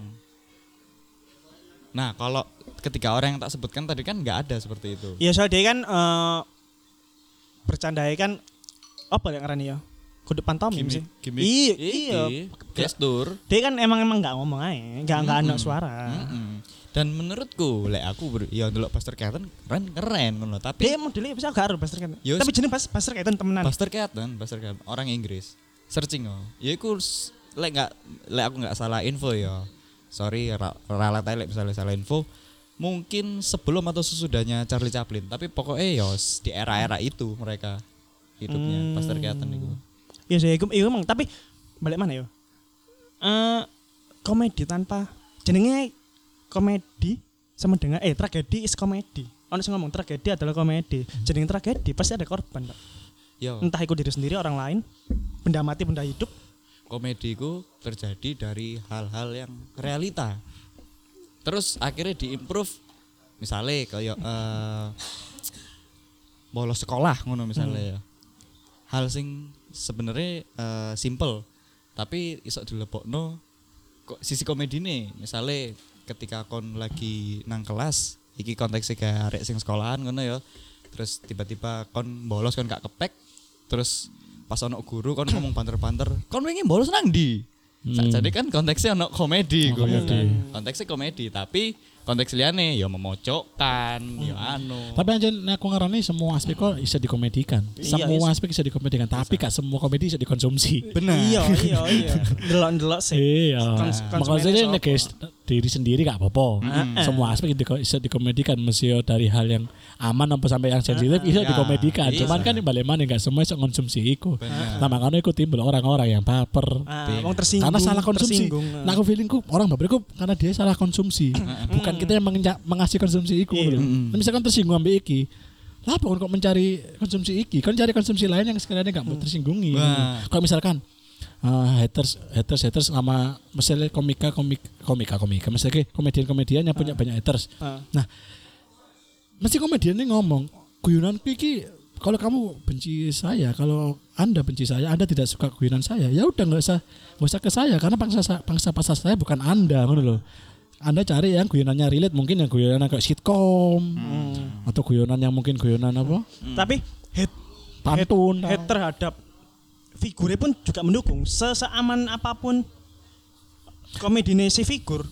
[SPEAKER 1] Nah, kalau ketika orang yang tak sebutkan tadi kan nggak ada seperti itu.
[SPEAKER 2] Iya soal dia kan eh bercandai kan apa yang ngarani ya? Kudu pantomim sih.
[SPEAKER 1] Gimik,
[SPEAKER 2] Iya,
[SPEAKER 1] iki,
[SPEAKER 2] iya.
[SPEAKER 1] gestur.
[SPEAKER 2] Dia kan emang emang nggak ngomong aja, nggak nggak ada
[SPEAKER 1] Mm-mm.
[SPEAKER 2] suara.
[SPEAKER 1] Mm-mm. Dan menurutku, lek aku ber, ya ndelok Buster Keaton keren keren ngono, tapi
[SPEAKER 2] Dia modelnya bisa gak harus Buster Keaton.
[SPEAKER 1] Yo,
[SPEAKER 2] Tapi jenis pas Buster Keaton temenan.
[SPEAKER 1] Buster Keaton, Buster Keaton orang Inggris. Searching oh. Ya iku s- lek nggak lek aku nggak salah info ya. Sorry ra- ralat ae lek misalnya salah info. Mungkin sebelum atau sesudahnya Charlie Chaplin, tapi pokoknya ya s- di era-era itu mereka hidupnya
[SPEAKER 2] Hmm.
[SPEAKER 1] Buster Keaton itu.
[SPEAKER 2] Iya sih, iku iku emang tapi balik mana ya? Eh komedi tanpa jenenge komedi sama dengan eh tragedi is komedi. Ono sing ngomong tragedi adalah komedi. Jenenge tragedi pasti ada korban, Pak.
[SPEAKER 1] Yo,
[SPEAKER 2] Entah itu diri sendiri, orang lain, benda mati, benda hidup.
[SPEAKER 1] komedi itu terjadi dari hal-hal yang realita. Terus akhirnya diimprove, misalnya kayak eh bolos sekolah ngono misalnya ya. Hal sing sebenarnya eh, simple, tapi iso dilebokno kok sisi komedi nih. Misalnya ketika kon lagi nang kelas, iki konteksnya kayak arek sing sekolahan ngono ya. Terus tiba-tiba kon bolos kon gak kepek, terus pas ono guru kon ngomong banter-banter, kon wingi bolos nang ndi?
[SPEAKER 3] Hmm.
[SPEAKER 1] Jadi kan konteksnya ono komedi,
[SPEAKER 3] Oh,
[SPEAKER 1] ngono
[SPEAKER 3] komedi.
[SPEAKER 1] kan. Konteksnya komedi, tapi konteks liane ya memojokkan, ya anu.
[SPEAKER 3] Tapi anjir aku ngarani semua aspek kok bisa dikomedikan.
[SPEAKER 2] Iya,
[SPEAKER 3] Semua
[SPEAKER 2] iya.
[SPEAKER 3] aspek bisa dikomedikan, tapi gak semua komedi bisa dikonsumsi.
[SPEAKER 1] Benar.
[SPEAKER 2] Iya, iya, iya. Delok-delok sih.
[SPEAKER 3] Iya.
[SPEAKER 2] Kons- konsumennya
[SPEAKER 3] Makanya
[SPEAKER 2] siapa?
[SPEAKER 3] nek guys diri sendiri gak apa-apa.
[SPEAKER 1] Mm.
[SPEAKER 3] Semua aspek di- bisa dikomedikan, mesti dari hal yang aman sampai sampai yang sensitif bisa
[SPEAKER 1] Ya,
[SPEAKER 3] dikomedikan.
[SPEAKER 1] bisa.
[SPEAKER 3] Cuman kan balik mana gak semua bisa konsumsi iku.
[SPEAKER 1] Benar.
[SPEAKER 3] Nah makanya iku timbul orang-orang yang baper.
[SPEAKER 2] Ah, wong tersinggung.
[SPEAKER 3] Karena salah konsumsi.
[SPEAKER 2] tersinggung.
[SPEAKER 3] Nah aku feelingku orang baper iku karena dia salah konsumsi. Bukan kita yang mengenja- mengasih konsumsi iku.
[SPEAKER 2] Iya.
[SPEAKER 3] lho.
[SPEAKER 1] Mm.
[SPEAKER 3] Nah, misalkan tersinggung ambil iki. Lah apa kok mencari konsumsi iki? Kan cari konsumsi lain yang sekiranya gak mau tersinggungi.
[SPEAKER 1] Wah.
[SPEAKER 3] Kalau misalkan uh, haters haters haters sama misalnya komika komik komika komika misalnya komedian-komedian yang punya banyak haters.
[SPEAKER 2] Ah.
[SPEAKER 3] Nah, mesti komedian ini ngomong, guyonan iki kalau kamu benci saya, kalau Anda benci saya, Anda tidak suka guyonan saya, ya udah nggak usah nggak usah ke saya karena pangsa pangsa pasar saya bukan Anda, ngono loh. Anda cari yang guyonannya relate, mungkin yang guyonan kayak sitkom atau guyonan yang mungkin guyonan apa?
[SPEAKER 2] Tapi hate
[SPEAKER 3] Pantun.
[SPEAKER 2] hate terhadap figurnya pun juga mendukung. Se- Seaman apapun komedine si figur,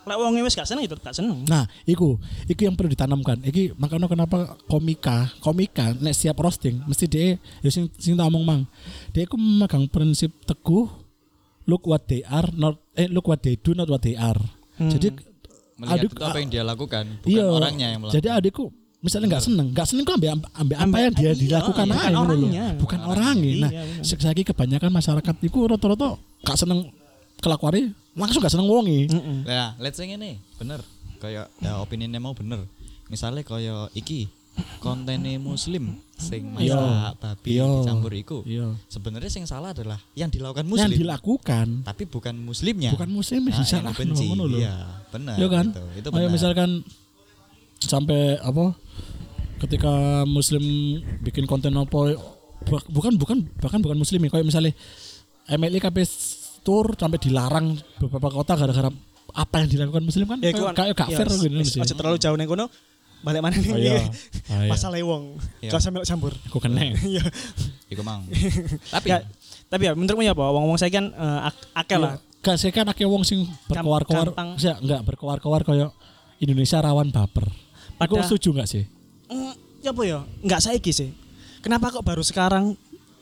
[SPEAKER 2] Lek wong wis gak seneng itu gak seneng.
[SPEAKER 3] Nah, iku, iku yang perlu ditanamkan. Iki makanya kenapa komika, komika nek siap roasting mesti dia ya sing sing tak omong mang. Dia iku memegang prinsip teguh look what they are not eh look what they do not what they are. Hmm. Jadi
[SPEAKER 1] melihat
[SPEAKER 3] adik,
[SPEAKER 1] itu apa yang dia lakukan, bukan
[SPEAKER 3] iya,
[SPEAKER 1] orangnya yang melakukan.
[SPEAKER 3] Jadi adikku misalnya nggak seneng, nggak seneng kok ambil ambil apa yang dia
[SPEAKER 2] iya,
[SPEAKER 3] dilakukan
[SPEAKER 2] iya,
[SPEAKER 3] aja
[SPEAKER 2] bukan
[SPEAKER 3] ngono lho.
[SPEAKER 2] orangnya.
[SPEAKER 3] Bukan orangnya. Nah,
[SPEAKER 2] Iya, bener.
[SPEAKER 3] sekali kebanyakan masyarakat itu rata-rata gak seneng kelakuannya langsung gak seneng wongi.
[SPEAKER 2] Heeh.
[SPEAKER 1] Nah, let's say ngene, bener. Kayak ya opininya mau bener. Misalnya kayak iki kontennya muslim sing
[SPEAKER 3] Iya.
[SPEAKER 1] masak babi
[SPEAKER 3] Iya.
[SPEAKER 1] dicampur iku.
[SPEAKER 3] Iya.
[SPEAKER 1] Sebenarnya sing salah adalah yang dilakukan
[SPEAKER 3] Yang
[SPEAKER 1] muslim,
[SPEAKER 3] dilakukan
[SPEAKER 1] tapi bukan muslimnya.
[SPEAKER 3] bukan muslim
[SPEAKER 1] Nah,
[SPEAKER 3] sih
[SPEAKER 1] yang
[SPEAKER 3] salah
[SPEAKER 1] dibenci.
[SPEAKER 3] ngono lho.
[SPEAKER 1] Iya, benar.
[SPEAKER 3] Iya kan?
[SPEAKER 1] Gitu. Itu
[SPEAKER 3] Kayak
[SPEAKER 1] benar.
[SPEAKER 3] misalkan sampai apa ketika muslim bikin konten apa bu- bukan bukan bahkan bukan muslim ya kayak misalnya M L I K P tour sampai dilarang beberapa kota gara-gara apa yang dilakukan muslim kan
[SPEAKER 2] Ya,
[SPEAKER 3] kayak
[SPEAKER 2] kan-
[SPEAKER 3] kayak gak
[SPEAKER 2] ya,
[SPEAKER 3] fair gitu
[SPEAKER 2] wis,
[SPEAKER 3] sih.
[SPEAKER 2] aja terlalu jauh ning kono. Balik mana nih?
[SPEAKER 3] Oh, iya. Ah, iya.
[SPEAKER 2] Masalah wong.
[SPEAKER 1] Iya.
[SPEAKER 2] Gak sampe campur.
[SPEAKER 3] Aku kena.
[SPEAKER 2] Iya.
[SPEAKER 1] Iku mang. Tapi
[SPEAKER 2] Ya, tapi ya menurutmu ya apa? Wong-wong saya kan eh, ak- akeh lah.
[SPEAKER 3] Gak sih kan akeh wong sing berkoar-koar,
[SPEAKER 2] gampang.
[SPEAKER 3] sih enggak berkoar-koar kayak Indonesia rawan baper. Aku
[SPEAKER 2] Pada-
[SPEAKER 3] setuju enggak sih?
[SPEAKER 2] Mm, ya apa ya? Enggak saiki sih. Kenapa kok baru sekarang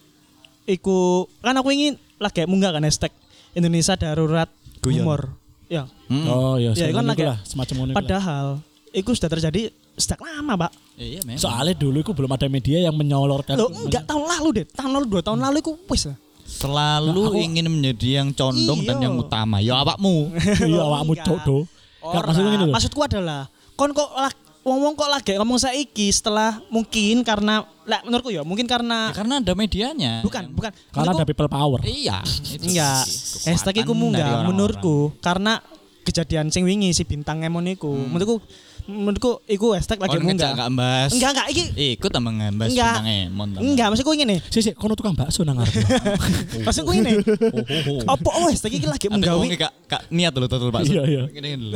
[SPEAKER 2] iku kan aku ingin lagi munggah kan hashtag Indonesia darurat
[SPEAKER 1] Guyon.
[SPEAKER 2] humor. Ya.
[SPEAKER 1] Hmm.
[SPEAKER 3] Oh iya,
[SPEAKER 2] Ya, kan
[SPEAKER 3] semacam
[SPEAKER 2] lagi-
[SPEAKER 3] itulah, semacam ngono iku lah.
[SPEAKER 2] Padahal iku sudah terjadi sejak lama, Pak.
[SPEAKER 1] Iya memang.
[SPEAKER 3] Soalnya dulu itu belum ada media yang menyolorkan.
[SPEAKER 2] Loh, enggak tahun lalu deh. Tahun lalu dua tahun lalu iku wis lah.
[SPEAKER 1] Selalu
[SPEAKER 3] Nah, aku-
[SPEAKER 1] ingin menjadi yang condong dan
[SPEAKER 2] Iya.
[SPEAKER 1] yang utama. Ya awakmu.
[SPEAKER 3] Iya, awakmu
[SPEAKER 2] Enggak.
[SPEAKER 3] cok do. Enggak
[SPEAKER 2] Ora,
[SPEAKER 3] maksudnya ngene lho.
[SPEAKER 2] maksudku adalah kon kok lag- wong-wong kok lagi ngomong saiki setelah mungkin karena lah menurutku ya mungkin
[SPEAKER 1] Ya,
[SPEAKER 2] karena
[SPEAKER 1] karena ada medianya.
[SPEAKER 2] bukan bukan
[SPEAKER 3] Karena ada
[SPEAKER 2] menurutku-
[SPEAKER 3] people power.
[SPEAKER 1] Iya. itu
[SPEAKER 2] enggak
[SPEAKER 1] sih,
[SPEAKER 2] hashtag iku
[SPEAKER 1] kekuatan dari
[SPEAKER 2] munggah
[SPEAKER 1] orang-orang.
[SPEAKER 2] menurutku karena kejadian sing wingi si bintang Emon iku menurutku menurutku iku hashtag lagi
[SPEAKER 1] Oh, ngejak
[SPEAKER 2] munggah
[SPEAKER 1] enggak mbas.
[SPEAKER 2] enggak enggak iki
[SPEAKER 1] Ikut tambah ngembas
[SPEAKER 2] Enggak.
[SPEAKER 1] bintang Emon. tambah.
[SPEAKER 2] enggak maksudku ini nih
[SPEAKER 3] Sih sih, kono tukang bakso nang ngarep.
[SPEAKER 2] maksudku ini
[SPEAKER 1] Oh, oh, oh.
[SPEAKER 2] apa oh hashtag iki lagi
[SPEAKER 1] Tapi
[SPEAKER 2] menggawe
[SPEAKER 1] ngomongnya kak, kak niat dulu total Pak.
[SPEAKER 3] Iya, iya.
[SPEAKER 1] Gini dulu.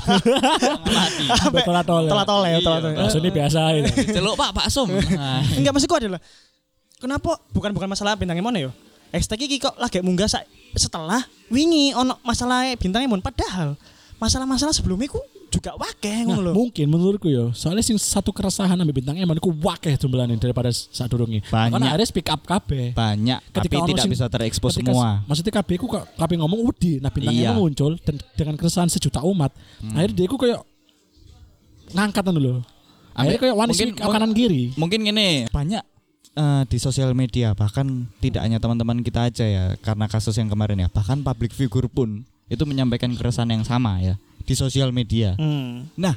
[SPEAKER 1] Mati.
[SPEAKER 3] Telat tol.
[SPEAKER 2] telat tole
[SPEAKER 1] Iya,
[SPEAKER 2] telat tole
[SPEAKER 3] Bakso ini biasa itu.
[SPEAKER 1] Celuk Pak, Pak Som. Nah,
[SPEAKER 2] enggak maksudku adalah kenapa bukan bukan masalah bintang Emon ya hashtag iki kok lagi munggah sa- setelah wingi ono masalah bintang Emon padahal masalah-masalah sebelumnya ku juga wakeh
[SPEAKER 3] Nah,
[SPEAKER 2] ngono lho.
[SPEAKER 3] mungkin menurutku ya, soalnya sing satu keresahan ambil bintang Emon iku wakeh jumlahnya daripada saat durungi.
[SPEAKER 1] Banyak.
[SPEAKER 3] Karena akhirnya speak up kabeh.
[SPEAKER 1] banyak tapi
[SPEAKER 3] Ketika ono
[SPEAKER 1] tidak
[SPEAKER 3] sing-
[SPEAKER 1] bisa terekspos
[SPEAKER 3] ketika-
[SPEAKER 1] semua.
[SPEAKER 3] Maksudnya kabeh ku kok kabeh ngomong wedi, nah bintang
[SPEAKER 1] Iya.
[SPEAKER 3] Emon muncul dan dengan keresahan sejuta umat. Akhirnya dia ku kayak ngangkat dulu. Akhirnya kayak wani
[SPEAKER 1] Mungkin-
[SPEAKER 3] speak up kanan kiri.
[SPEAKER 1] Mungkin gini, banyak eh, di sosial media bahkan tidak hanya teman-teman kita aja ya karena kasus yang kemarin ya, bahkan public figure pun itu menyampaikan keresahan yang sama ya di sosial media.
[SPEAKER 2] Hmm.
[SPEAKER 1] Nah,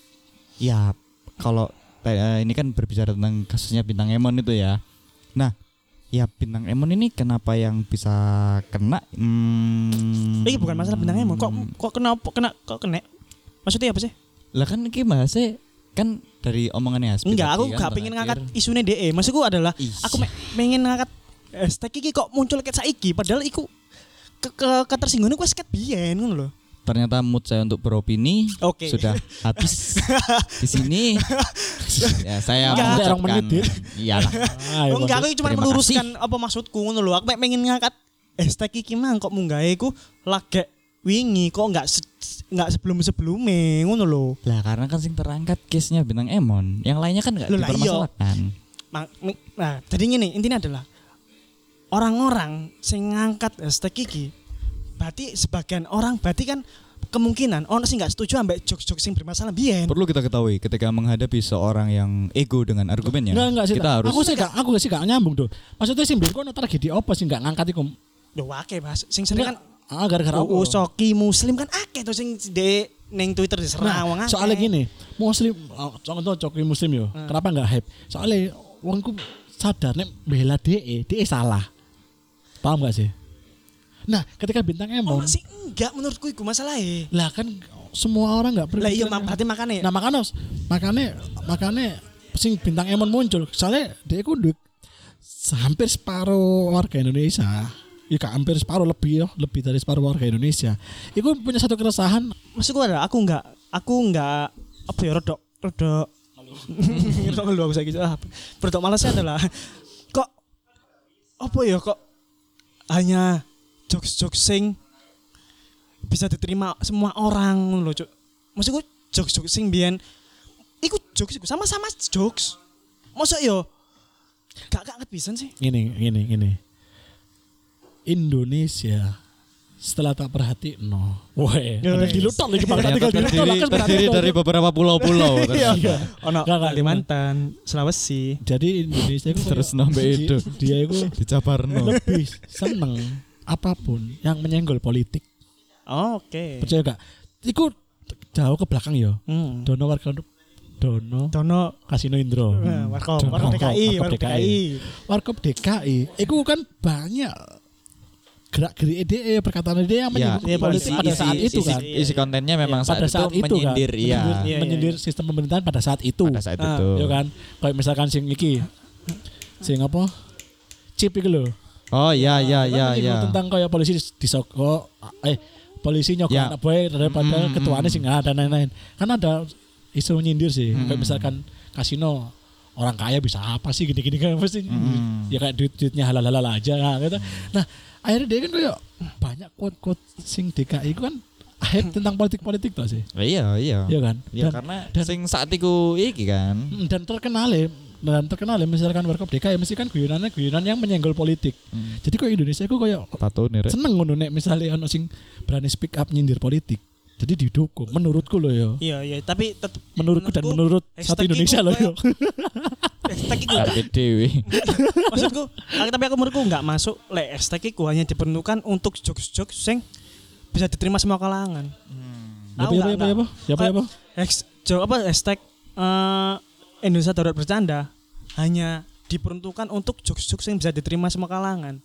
[SPEAKER 1] ya kalau eh, ini kan berbicara tentang kasusnya bintang Emon itu ya. Nah, ya bintang Emon ini kenapa yang bisa kena? Hmm,
[SPEAKER 2] Ini bukan masalah bintang Emon. Kok kok kena kena kok kena? Maksudnya apa sih?
[SPEAKER 1] Lah kan iki bahasnya kan dari omongannya Hasbi
[SPEAKER 2] Enggak,
[SPEAKER 1] tadi
[SPEAKER 2] aku
[SPEAKER 1] kan
[SPEAKER 2] gak pengen
[SPEAKER 1] terakhir.
[SPEAKER 2] ngangkat isune D E. Maksudku adalah
[SPEAKER 1] Ih.
[SPEAKER 2] aku me- pengen ngangkat hashtag iki kok muncul ket saiki padahal iku ke, ke ketersinggungan iku wis ket biyen ngono lho.
[SPEAKER 1] Ternyata mood saya untuk beropini
[SPEAKER 2] Oke.
[SPEAKER 1] sudah habis di sini. Ya, saya
[SPEAKER 2] Enggak.
[SPEAKER 1] mengucapkan
[SPEAKER 3] Orang menit, Dit.
[SPEAKER 1] iyalah.
[SPEAKER 3] Ayo,
[SPEAKER 2] Oh, enggak, aku cuma
[SPEAKER 1] Terima
[SPEAKER 2] meluruskan apa maksudku ngono lho. Aku mek pengen ngangkat hashtag iki mang kok munggahe iku lagi wingi kok enggak se- enggak sebelum-sebelumnya ngono lho.
[SPEAKER 1] Lah karena kan sing terangkat case-nya bintang Emon, yang lainnya kan enggak
[SPEAKER 2] Loh, lah iya.
[SPEAKER 1] dipermasalahkan.
[SPEAKER 2] Mang- mi- Nah, jadi gini, intinya adalah orang-orang sing ngangkat hashtag iki berarti sebagian orang berarti kan kemungkinan orang sing nggak setuju ambek jokes-jokes sing bermasalah biyen.
[SPEAKER 1] Perlu kita ketahui ketika menghadapi seorang yang ego dengan argumennya,
[SPEAKER 3] Enggak enggak sih.
[SPEAKER 1] kita
[SPEAKER 3] tak.
[SPEAKER 1] harus
[SPEAKER 3] Aku sih gak aku sih gak nyambung tuh. Maksudnya sih mbien kono tragedi apa sih gak ngangkat iku?
[SPEAKER 2] Yo akeh Mas. Sing sering kan
[SPEAKER 3] Ah gara-gara apa?
[SPEAKER 2] U U Soki Muslim kan akeh tuh sing de ning Twitter diserang wong
[SPEAKER 3] Nah,
[SPEAKER 2] akeh.
[SPEAKER 3] soalnya gini, muslim oh, contoh coki muslim yo.
[SPEAKER 2] Hmm.
[SPEAKER 3] Kenapa enggak hype? Soalnya wongku sadar nek bela D E, D E salah. Paham gak sih? Nah, ketika bintang
[SPEAKER 2] Oh,
[SPEAKER 3] Emon,
[SPEAKER 2] masih enggak menurutku iku masalahnya.
[SPEAKER 3] lah kan semua orang enggak
[SPEAKER 2] Lah iya mak- berarti makane.
[SPEAKER 3] Nah, makanya makanya makanya sing bintang Emon muncul. Soalnya dia ku duit hampir separuh warga Indonesia. Ya kak, hampir separuh lebih ya, lebih dari separuh warga Indonesia. Iku punya satu keresahan.
[SPEAKER 2] Maksudku ada aku enggak aku enggak apa ya rodok rodok rodok ngeluh aku saiki ah rodok malasnya adalah kok apa ya kok hanya jokes-jokes sing bisa diterima semua orang lho, Cuk. Maksudku jokes-jokes sing biyen iku jokes iku sama-sama jokes. Masa yo gak gak pisan sih.
[SPEAKER 3] Gini, gini, gini. Indonesia setelah tak perhati no, woi, ada di Luton lagi bang, tinggal di Luton,
[SPEAKER 1] terdiri,
[SPEAKER 3] kan
[SPEAKER 1] terdiri dari beberapa pulau-pulau.
[SPEAKER 2] Iya,
[SPEAKER 1] ternyata.
[SPEAKER 2] ono
[SPEAKER 3] Gak, gak,
[SPEAKER 2] Kalimantan, Sulawesi.
[SPEAKER 3] Jadi Indonesia itu
[SPEAKER 1] Terus nambah itu.
[SPEAKER 3] dia itu
[SPEAKER 1] Dijabarno.
[SPEAKER 3] lebih seneng apapun yang menyenggol politik.
[SPEAKER 2] Oh, oke.
[SPEAKER 3] Percaya gak? Iku jauh ke belakang ya.
[SPEAKER 2] Hmm.
[SPEAKER 3] Dono warga Dono
[SPEAKER 2] Dono
[SPEAKER 3] Kasino Indro.
[SPEAKER 2] eh, Warkop,
[SPEAKER 3] Dono,
[SPEAKER 2] Warkop D K I,
[SPEAKER 3] Warkop
[SPEAKER 2] Warkop D K I.
[SPEAKER 3] Warkop D K I. Iku kan banyak gerak-gerik ide perkataan ide yang
[SPEAKER 1] Ya,
[SPEAKER 3] menyinggung
[SPEAKER 2] iya,
[SPEAKER 3] politik
[SPEAKER 2] isi-
[SPEAKER 3] pada
[SPEAKER 2] isi-
[SPEAKER 3] saat itu
[SPEAKER 1] isi,
[SPEAKER 3] kan.
[SPEAKER 1] isi kontennya memang
[SPEAKER 3] pada
[SPEAKER 1] saat,
[SPEAKER 3] saat
[SPEAKER 1] itu
[SPEAKER 3] itu kan
[SPEAKER 1] menyindir, iya.
[SPEAKER 3] menyindir,
[SPEAKER 2] Iya,
[SPEAKER 3] menyindir
[SPEAKER 2] iya.
[SPEAKER 3] sistem pemerintahan pada saat itu.
[SPEAKER 1] Pada saat
[SPEAKER 2] Ah,
[SPEAKER 1] itu.
[SPEAKER 3] Ya kan, kayak misalkan sing iki, sing apa, chip iki lho.
[SPEAKER 1] Oh iya iya
[SPEAKER 3] Kan
[SPEAKER 1] iya
[SPEAKER 3] menyinggung
[SPEAKER 1] iya.
[SPEAKER 3] tentang kayak polisi disogok, eh polisi nyogok
[SPEAKER 1] Ya.
[SPEAKER 3] anak boy daripada
[SPEAKER 1] Mm, mm,
[SPEAKER 3] ketuanya
[SPEAKER 1] mm.
[SPEAKER 3] sing nggak ada lain-lain. Kan ada isu menyindir sih,
[SPEAKER 1] Mm,
[SPEAKER 3] kayak
[SPEAKER 1] mm.
[SPEAKER 3] misalkan kasino orang kaya bisa apa sih gini-gini kan pasti
[SPEAKER 1] Mm.
[SPEAKER 3] ya kayak duit-duitnya halal-halal aja nah, gitu. Nah akhirnya dia kan kayak banyak quote-quote sing D K I itu kan hype tentang politik-politik tuh sih.
[SPEAKER 1] Iya iya.
[SPEAKER 3] Iya kan?
[SPEAKER 1] Ya
[SPEAKER 3] Dan,
[SPEAKER 1] karena
[SPEAKER 3] dan-
[SPEAKER 1] sing saat iku iki kan.
[SPEAKER 3] mm, dan terkenal ya dan terkenal ya misalkan Warkop D K I mesti kan guyonannya guyonan yang menyenggol politik.
[SPEAKER 1] Hmm.
[SPEAKER 3] Jadi kok Indonesia itu kayak
[SPEAKER 1] Tato nih rek.
[SPEAKER 3] seneng ngono nek misalnya ono sing berani speak up nyindir politik. Jadi didukung menurutku loh ya.
[SPEAKER 2] Iya, iya, tapi tetep
[SPEAKER 3] Menurutku dan menurut satu
[SPEAKER 2] hashtag
[SPEAKER 3] Indonesia
[SPEAKER 2] iku
[SPEAKER 3] loh ya.
[SPEAKER 2] hashtag iku
[SPEAKER 1] Karpe dewi.
[SPEAKER 2] maksudku, ah, tapi aku menurutku enggak masuk lek hashtag iku hanya diperuntukkan untuk jokes-jokes sing bisa diterima semua kalangan.
[SPEAKER 3] Apa ya apa ya apa? Ya apa ya apa?
[SPEAKER 2] Hash- jo- apa hashtag eh, Indonesia Darurat Bercanda hanya diperuntukkan untuk jokes-jokes yang bisa diterima semua kalangan.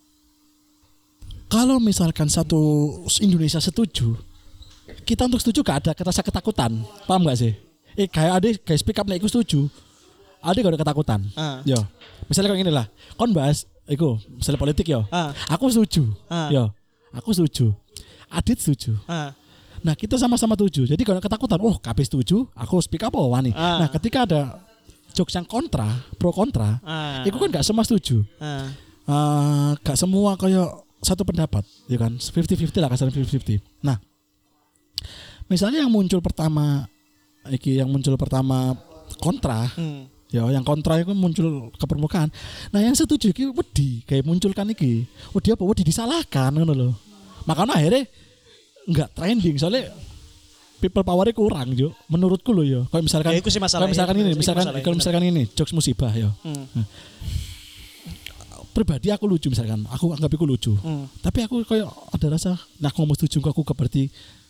[SPEAKER 3] Kalau misalkan satu Indonesia setuju, kita untuk setuju gak ada rasa ketakutan, paham gak sih? Eh kayak ada kayak speak up nek iku setuju, ada gak ada ketakutan.
[SPEAKER 2] Ah.
[SPEAKER 3] Yo, misalnya kayak gini lah, kon bahas, iku misalnya politik yo,
[SPEAKER 2] Ah.
[SPEAKER 3] aku setuju,
[SPEAKER 2] Ah.
[SPEAKER 3] yo, aku setuju, Adit setuju.
[SPEAKER 2] Ah,
[SPEAKER 3] Nah kita sama-sama setuju, jadi kalau ada ketakutan, oh K P setuju, aku speak up oh wani.
[SPEAKER 2] Ah.
[SPEAKER 3] Nah ketika ada jokes yang kontra, pro kontra,
[SPEAKER 2] ah,
[SPEAKER 3] itu kan gak semua setuju.
[SPEAKER 2] ah,
[SPEAKER 3] Eh, gak semua kayak satu pendapat, ya kan? fifty fifty lah kasarnya fifty fifty. Nah, misalnya yang muncul pertama, iki yang muncul pertama kontra,
[SPEAKER 2] hmm.
[SPEAKER 3] ya yang kontra itu muncul ke permukaan. Nah, yang setuju iki wedi kayak munculkan iki. Wedi apa? Wedi disalahkan ngono loh. Makanya akhirnya nggak trending soalnya people powernya kurang jo. Menurutku loh ya. Kayak misalkan,
[SPEAKER 2] Ya, itu sih masalah
[SPEAKER 3] kalau misalkan
[SPEAKER 2] ya.
[SPEAKER 3] ini,
[SPEAKER 2] Itu
[SPEAKER 3] misalkan
[SPEAKER 2] masalah,
[SPEAKER 3] kalau
[SPEAKER 2] benar.
[SPEAKER 3] misalkan ini jokes musibah ya.
[SPEAKER 2] Hmm.
[SPEAKER 3] Pribadi aku lucu misalkan, aku anggap aku lucu.
[SPEAKER 2] Hmm.
[SPEAKER 3] Tapi aku kayak ada rasa, nah aku ngomong setuju aku ke berarti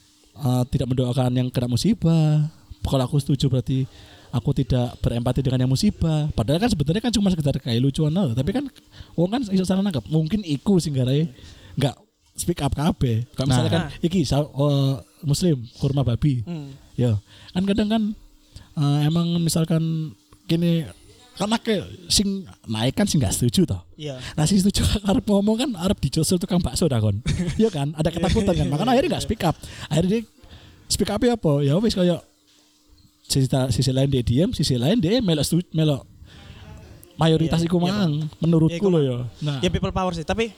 [SPEAKER 3] uh, tidak mendoakan yang kena musibah. Kalau aku setuju berarti aku tidak berempati dengan yang musibah. Padahal kan sebenarnya kan cuma sekedar kayak lucuan lah. Tapi kan, orang kan iso salah nangkep. Mungkin iku sing garai nggak speak up kabeh. Kalau misalnya
[SPEAKER 2] Nah.
[SPEAKER 3] kan iki sa- uh, Muslim kurma babi,
[SPEAKER 2] Hmm.
[SPEAKER 3] ya kan kadang kan uh, emang misalkan gini kan akeh sing naik kan sing nggak setuju toh.
[SPEAKER 2] Iya.
[SPEAKER 3] Nah sing setuju arep ngomong kan arep dijosel tukang bakso dah kon. Iya kan, ada ketakutan kan. Makanya akhirnya nggak speak up. Akhirnya dia speak up ya apa? Ya wis kayak sisi, sisi lain dia diam, sisi lain dia melok setuju, melok mayoritas
[SPEAKER 2] Iya,
[SPEAKER 3] iku
[SPEAKER 2] iya,
[SPEAKER 3] mang menurutku
[SPEAKER 2] Iya, iku
[SPEAKER 3] loh
[SPEAKER 2] mang.
[SPEAKER 3] ya. Nah,
[SPEAKER 2] Ya people power sih, tapi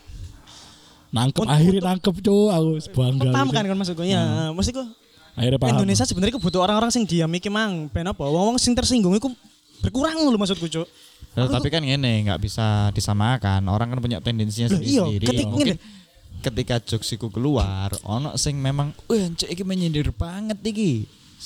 [SPEAKER 3] nangkep
[SPEAKER 2] Untuk-
[SPEAKER 3] akhirnya nangkep cowok aku bangga.
[SPEAKER 2] paham
[SPEAKER 3] bisa.
[SPEAKER 2] kan kan maksudku ya. Maksudku
[SPEAKER 3] Akhirnya paham.
[SPEAKER 2] Indonesia sebenarnya butuh orang-orang sing diam iki mang ben apa? Wong-wong sing tersinggung iku berkurang lho maksudku, Cuk.
[SPEAKER 1] Loh,
[SPEAKER 2] Aku
[SPEAKER 1] tapi kan ngene nggak bisa disamakan. Orang kan punya tendensinya
[SPEAKER 2] Loh, iya,
[SPEAKER 1] sendiri-sendiri.
[SPEAKER 2] ketik-
[SPEAKER 1] Mungkin
[SPEAKER 2] ngene.
[SPEAKER 1] ketika jokes iku keluar, ono sing memang, "Wah, cek iki menyindir banget iki."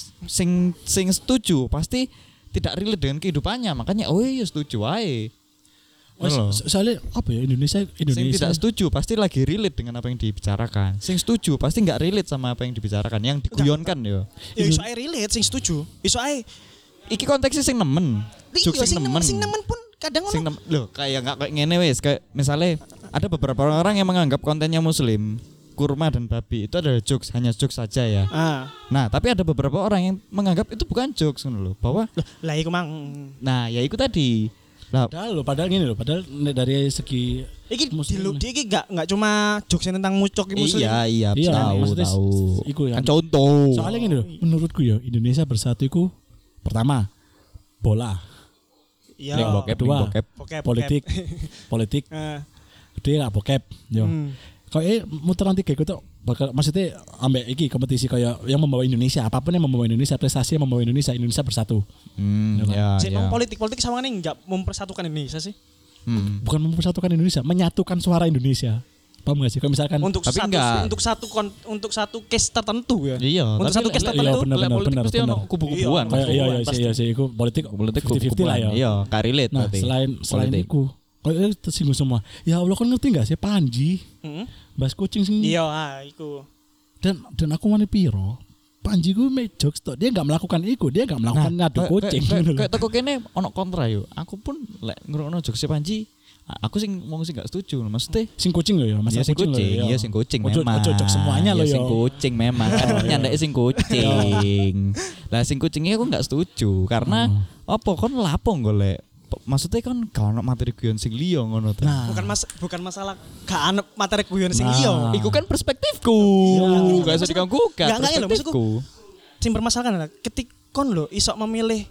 [SPEAKER 1] Sing sing setuju pasti tidak relate dengan kehidupannya, makanya oh iya setuju ae.
[SPEAKER 3] Mas,
[SPEAKER 1] Loh.
[SPEAKER 3] so- soalnya apa ya Indonesia
[SPEAKER 1] Sing
[SPEAKER 3] Indonesia
[SPEAKER 1] tidak setuju pasti lagi relate dengan apa yang dibicarakan. Sing setuju pasti nggak relate sama apa yang dibicarakan, yang diguyonkan yo.
[SPEAKER 2] Ya iso ae relate sing setuju. Iso ae
[SPEAKER 1] Iki konteksnya sing nemen. Jokes
[SPEAKER 2] iya,
[SPEAKER 1] sing
[SPEAKER 2] sing
[SPEAKER 1] nemen.
[SPEAKER 2] nemen, sing nemen pun kadang
[SPEAKER 1] Sing
[SPEAKER 2] ngono.
[SPEAKER 1] nem- loh kayak nggak kayak ngene wes kayak misalnya ada beberapa orang yang menganggap kontennya muslim kurma dan babi itu adalah jokes, hanya jokes saja ya.
[SPEAKER 2] Ah,
[SPEAKER 1] Nah tapi ada beberapa orang yang menganggap itu bukan jokes ngono loh, bahwa
[SPEAKER 2] lah iku mang.
[SPEAKER 1] nah ya itu tadi lah
[SPEAKER 3] padahal loh, padahal gini loh, padahal nek dari segi
[SPEAKER 2] Iki
[SPEAKER 3] Muslim.
[SPEAKER 2] dilu di iki gak gak cuma jokes tentang mucok iki muslim.
[SPEAKER 1] iya iya
[SPEAKER 3] Iya,
[SPEAKER 1] tahu
[SPEAKER 3] maksudnya
[SPEAKER 1] tahu
[SPEAKER 3] iku ya.
[SPEAKER 1] kan contoh
[SPEAKER 3] Soalnya gini loh, menurutku ya Indonesia bersatu iku pertama bola,
[SPEAKER 2] Iya.
[SPEAKER 1] Link bokep,
[SPEAKER 3] Kedua.
[SPEAKER 1] link bokep.
[SPEAKER 2] Bokep,
[SPEAKER 3] politik,
[SPEAKER 2] bokep.
[SPEAKER 3] politik,
[SPEAKER 2] Eh,
[SPEAKER 3] gede lah bokep, yo.
[SPEAKER 2] hmm.
[SPEAKER 3] Kau eh muteran tiga iku tuh bakal maksudnya ambek iki kompetisi kayak yang membawa Indonesia, apapun yang membawa Indonesia, prestasi yang membawa Indonesia, Indonesia bersatu.
[SPEAKER 1] Hmm,
[SPEAKER 3] Ya,
[SPEAKER 1] ya,
[SPEAKER 2] Sik
[SPEAKER 1] ya.
[SPEAKER 2] nang politik-politik sama nih enggak mempersatukan Indonesia sih.
[SPEAKER 1] Hmm.
[SPEAKER 3] Bukan mempersatukan Indonesia, menyatukan suara Indonesia. Paham gak sih? Kalau misalkan
[SPEAKER 2] Untuk
[SPEAKER 1] Tapi
[SPEAKER 2] satu
[SPEAKER 1] enggak.
[SPEAKER 2] untuk satu kon- untuk satu case tertentu ya.
[SPEAKER 1] Iya,
[SPEAKER 2] Untuk
[SPEAKER 1] tapi
[SPEAKER 2] satu
[SPEAKER 1] lek-
[SPEAKER 2] case
[SPEAKER 1] lek-
[SPEAKER 2] tertentu.
[SPEAKER 3] iya, bener,
[SPEAKER 1] lek
[SPEAKER 3] bener,
[SPEAKER 1] politik
[SPEAKER 3] bener,
[SPEAKER 1] pasti ono
[SPEAKER 3] bener.
[SPEAKER 1] kubu-kubuan.
[SPEAKER 2] Iya,
[SPEAKER 3] kayak iya iya
[SPEAKER 2] pasti.
[SPEAKER 3] sih iya sih iku politik
[SPEAKER 1] Politik
[SPEAKER 3] fifty fifty lah ya.
[SPEAKER 1] Iya, karelate
[SPEAKER 3] Nah,
[SPEAKER 1] berarti.
[SPEAKER 3] selain selain
[SPEAKER 1] Politik.
[SPEAKER 3] iku kayak tersinggung semua. Ya Allah kan ngerti gak sih Panji,
[SPEAKER 2] Heeh.
[SPEAKER 3] Bas kucing sing
[SPEAKER 2] Iya, ah, iku.
[SPEAKER 3] dan dan aku wani piro. Panji gue make jokes tuh. Dia enggak melakukan iku, dia enggak melakukan ngadu
[SPEAKER 1] kayak-
[SPEAKER 3] kucing.
[SPEAKER 1] kayak-
[SPEAKER 3] gitu loh.
[SPEAKER 1] Kayak toko kene ono kontra yo. Aku pun lek ngrungokno jokes Panji, aku sing wong sing gak setuju. Maksudnya
[SPEAKER 3] Sing kucing loh ya,
[SPEAKER 1] Iya
[SPEAKER 3] masalah
[SPEAKER 1] sing
[SPEAKER 3] kucing loh
[SPEAKER 1] kucing,
[SPEAKER 3] ya.
[SPEAKER 1] iya sing kucing
[SPEAKER 3] Ojo-
[SPEAKER 1] memang.
[SPEAKER 3] ojo jokes semuanya loh
[SPEAKER 1] Iya,
[SPEAKER 3] ya.
[SPEAKER 1] sing kucing memang kan nyandake sing kucing. Lah sing kucingnya aku gak setuju karena apa kon lapo golek. Maksudnya kan gak ono materi guyon sing liya ngono ta.
[SPEAKER 3] Nah,
[SPEAKER 2] Bukan mas bukan masalah gak ana materi guyon sing
[SPEAKER 3] Nah.
[SPEAKER 2] iya.
[SPEAKER 1] Iku kan perspektifku.
[SPEAKER 2] Iya.
[SPEAKER 1] Gak usah diganggu kan
[SPEAKER 2] Nggak, nggak, ya, maksudku-
[SPEAKER 1] perspektifku.
[SPEAKER 2] Sing bermasalah adalah ketik kon lho iso memilih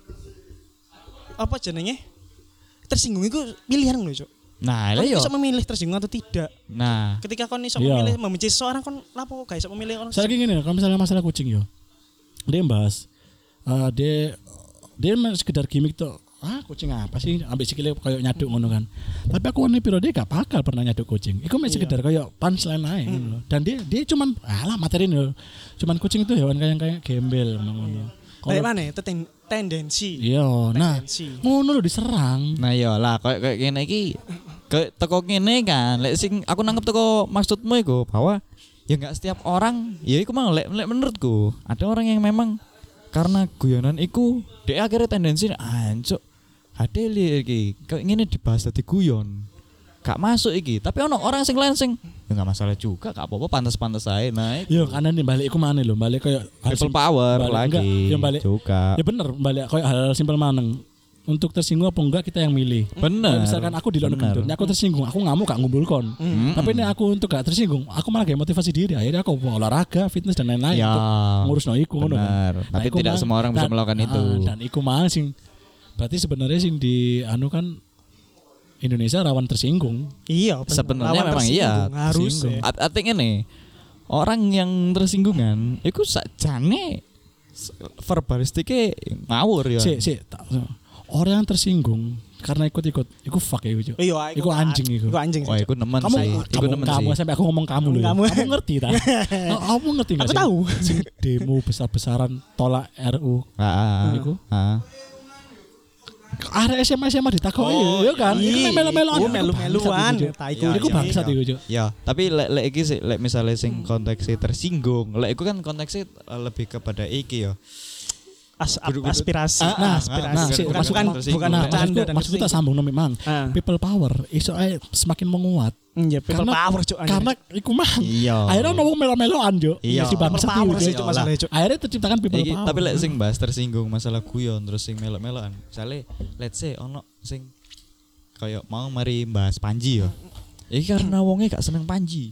[SPEAKER 2] apa jenenge? Tersinggung itu pilihan lho, Cuk.
[SPEAKER 1] Nah,
[SPEAKER 2] Kon
[SPEAKER 1] lah yo.
[SPEAKER 2] iso memilih tersinggung atau tidak.
[SPEAKER 1] Nah,
[SPEAKER 2] Ketika kon iso
[SPEAKER 3] Iya.
[SPEAKER 2] memilih membenci seseorang kon lapo gak iso memilih orang.
[SPEAKER 3] saya gini, kalau misalnya masalah kucing yo. Dia bahas eh, dia dia emang sekedar gimmick tuh. Ah, kucing apa sih? Ambek sikile kayak nyaduk ngono kan. Tapi aku wani piro dia gak bakal pernah nyaduk kucing. Iku mek sekedar kayak punchline ae ngono lho. Dan dia dia cuman alah materi lho. Cuman kucing itu hewan kayak kayak gembel ngono.
[SPEAKER 2] Kayak mana? Itu ten- tendensi.
[SPEAKER 3] Iya, nah
[SPEAKER 2] Tendensi.
[SPEAKER 3] ngono lho diserang.
[SPEAKER 1] nah yo lah kayak kayak gini iki kayak teko ngene kan. Lek sing aku nangkep teko maksudmu iku bahwa ya enggak setiap orang, ya iku mang lek lek menurutku ada orang yang memang karena guyonan iku dia akhirnya tendensi ancuk ade li iki kayak ngene dibahas dadi guyon. Gak masuk iki, tapi ono orang sing lain sing ya enggak masalah juga, gak apa-apa pantas-pantas ae. Nah,
[SPEAKER 3] Yo karena nih balik iku maneh lho, balik kayak
[SPEAKER 1] people power
[SPEAKER 3] balik,
[SPEAKER 1] lagi
[SPEAKER 3] enggak, yang balik
[SPEAKER 1] juga.
[SPEAKER 3] ya bener balik kayak hal simpel maneng. Untuk tersinggung apa enggak kita yang milih.
[SPEAKER 1] Bener.
[SPEAKER 3] Kalau misalkan aku di luar
[SPEAKER 1] Bener.
[SPEAKER 3] negeri, aku tersinggung, aku ngamuk gak ngumpul kon.
[SPEAKER 1] Mm-mm.
[SPEAKER 3] Tapi ini aku untuk gak tersinggung, aku malah kayak motivasi diri. Akhirnya aku mau olahraga, fitness dan lain-lain
[SPEAKER 1] Ya,
[SPEAKER 3] untuk ngurus no iku ngono kan.
[SPEAKER 1] benar.
[SPEAKER 3] Nah,
[SPEAKER 1] Tapi
[SPEAKER 3] iku
[SPEAKER 1] tidak
[SPEAKER 3] mang-
[SPEAKER 1] semua orang bisa
[SPEAKER 3] dan-
[SPEAKER 1] melakukan
[SPEAKER 3] ah,
[SPEAKER 1] itu.
[SPEAKER 3] Dan iku mah sing berarti sebenarnya sing di anu kan Indonesia rawan tersinggung.
[SPEAKER 2] Iya, bener.
[SPEAKER 1] Sebenarnya
[SPEAKER 2] Lawan
[SPEAKER 1] memang
[SPEAKER 2] tersinggung,
[SPEAKER 1] iya,
[SPEAKER 2] harus.
[SPEAKER 3] tersinggung.
[SPEAKER 2] Ya.
[SPEAKER 1] Art- artinya nih orang yang tersinggungan itu sakjane s- verbalistiknya ngawur ya.
[SPEAKER 3] Si, si, tak- orang yang tersinggung karena ikut-ikut, iku fuck ya iku.
[SPEAKER 2] Iya,
[SPEAKER 3] Iku anjing iku.
[SPEAKER 2] Iku anjing
[SPEAKER 1] Wah,
[SPEAKER 2] sih.
[SPEAKER 1] iku nemen
[SPEAKER 3] Kamu,
[SPEAKER 1] sih. Iku
[SPEAKER 3] kamu,
[SPEAKER 1] nemen
[SPEAKER 3] kamu
[SPEAKER 1] sih.
[SPEAKER 3] sampai aku ngomong kamu loh.
[SPEAKER 2] Kamu.
[SPEAKER 3] Kamu ngerti tak? Kamu ngerti nggak
[SPEAKER 2] Aku
[SPEAKER 3] sih?
[SPEAKER 2] tahu.
[SPEAKER 3] Sing demo besar-besaran tolak R U.
[SPEAKER 1] Ah,
[SPEAKER 3] Iku.
[SPEAKER 1] ah.
[SPEAKER 3] Area S M A S M A ditakoki
[SPEAKER 1] Oh,
[SPEAKER 3] ya kan. Iku
[SPEAKER 2] iya.
[SPEAKER 3] melo-meloan.
[SPEAKER 2] Iku melu-meluan. Ta, iku-
[SPEAKER 3] Iku
[SPEAKER 1] iya,
[SPEAKER 3] bangsat
[SPEAKER 1] iya.
[SPEAKER 3] iku, Cuk.
[SPEAKER 1] Ya, tapi lek lek iki sih lek misalnya sing konteksnya tersinggung, lek iku kan konteksnya eh, lebih kepada iki ya.
[SPEAKER 2] As,
[SPEAKER 1] Kudu- kudu-
[SPEAKER 2] aspirasi.
[SPEAKER 1] Ah, ah,
[SPEAKER 2] aspirasi.
[SPEAKER 3] Nah,
[SPEAKER 1] bukan-
[SPEAKER 3] si,
[SPEAKER 2] bukan
[SPEAKER 3] maksud,
[SPEAKER 2] bukan,
[SPEAKER 1] tersinggung.
[SPEAKER 2] bukan
[SPEAKER 3] nah,
[SPEAKER 2] bercanda
[SPEAKER 3] maksudku,
[SPEAKER 2] dan
[SPEAKER 3] maksudku tak
[SPEAKER 2] tersinggung.
[SPEAKER 3] sambung no memang.
[SPEAKER 2] Ah.
[SPEAKER 3] People power iso ae semakin menguat.
[SPEAKER 2] Iya, people
[SPEAKER 3] Karena-
[SPEAKER 2] power Cuk.
[SPEAKER 3] Karena iku mah
[SPEAKER 1] Iya.
[SPEAKER 3] akhirnya ngomong melo-meloan, Cuk.
[SPEAKER 1] Iya.
[SPEAKER 3] Si bangsat
[SPEAKER 2] People power
[SPEAKER 3] iku,
[SPEAKER 2] sih
[SPEAKER 3] Cuk.
[SPEAKER 2] Cuk masalahnya Cuk.
[SPEAKER 3] Akhirnya terciptakan people
[SPEAKER 1] Iki,
[SPEAKER 3] power.
[SPEAKER 1] tapi lek sing bahas tersinggung masalah guyon terus sing melok-melokan. Misale let's say ono sing kayak mau mari bahas Panji ya. Iki karena wonge gak seneng Panji.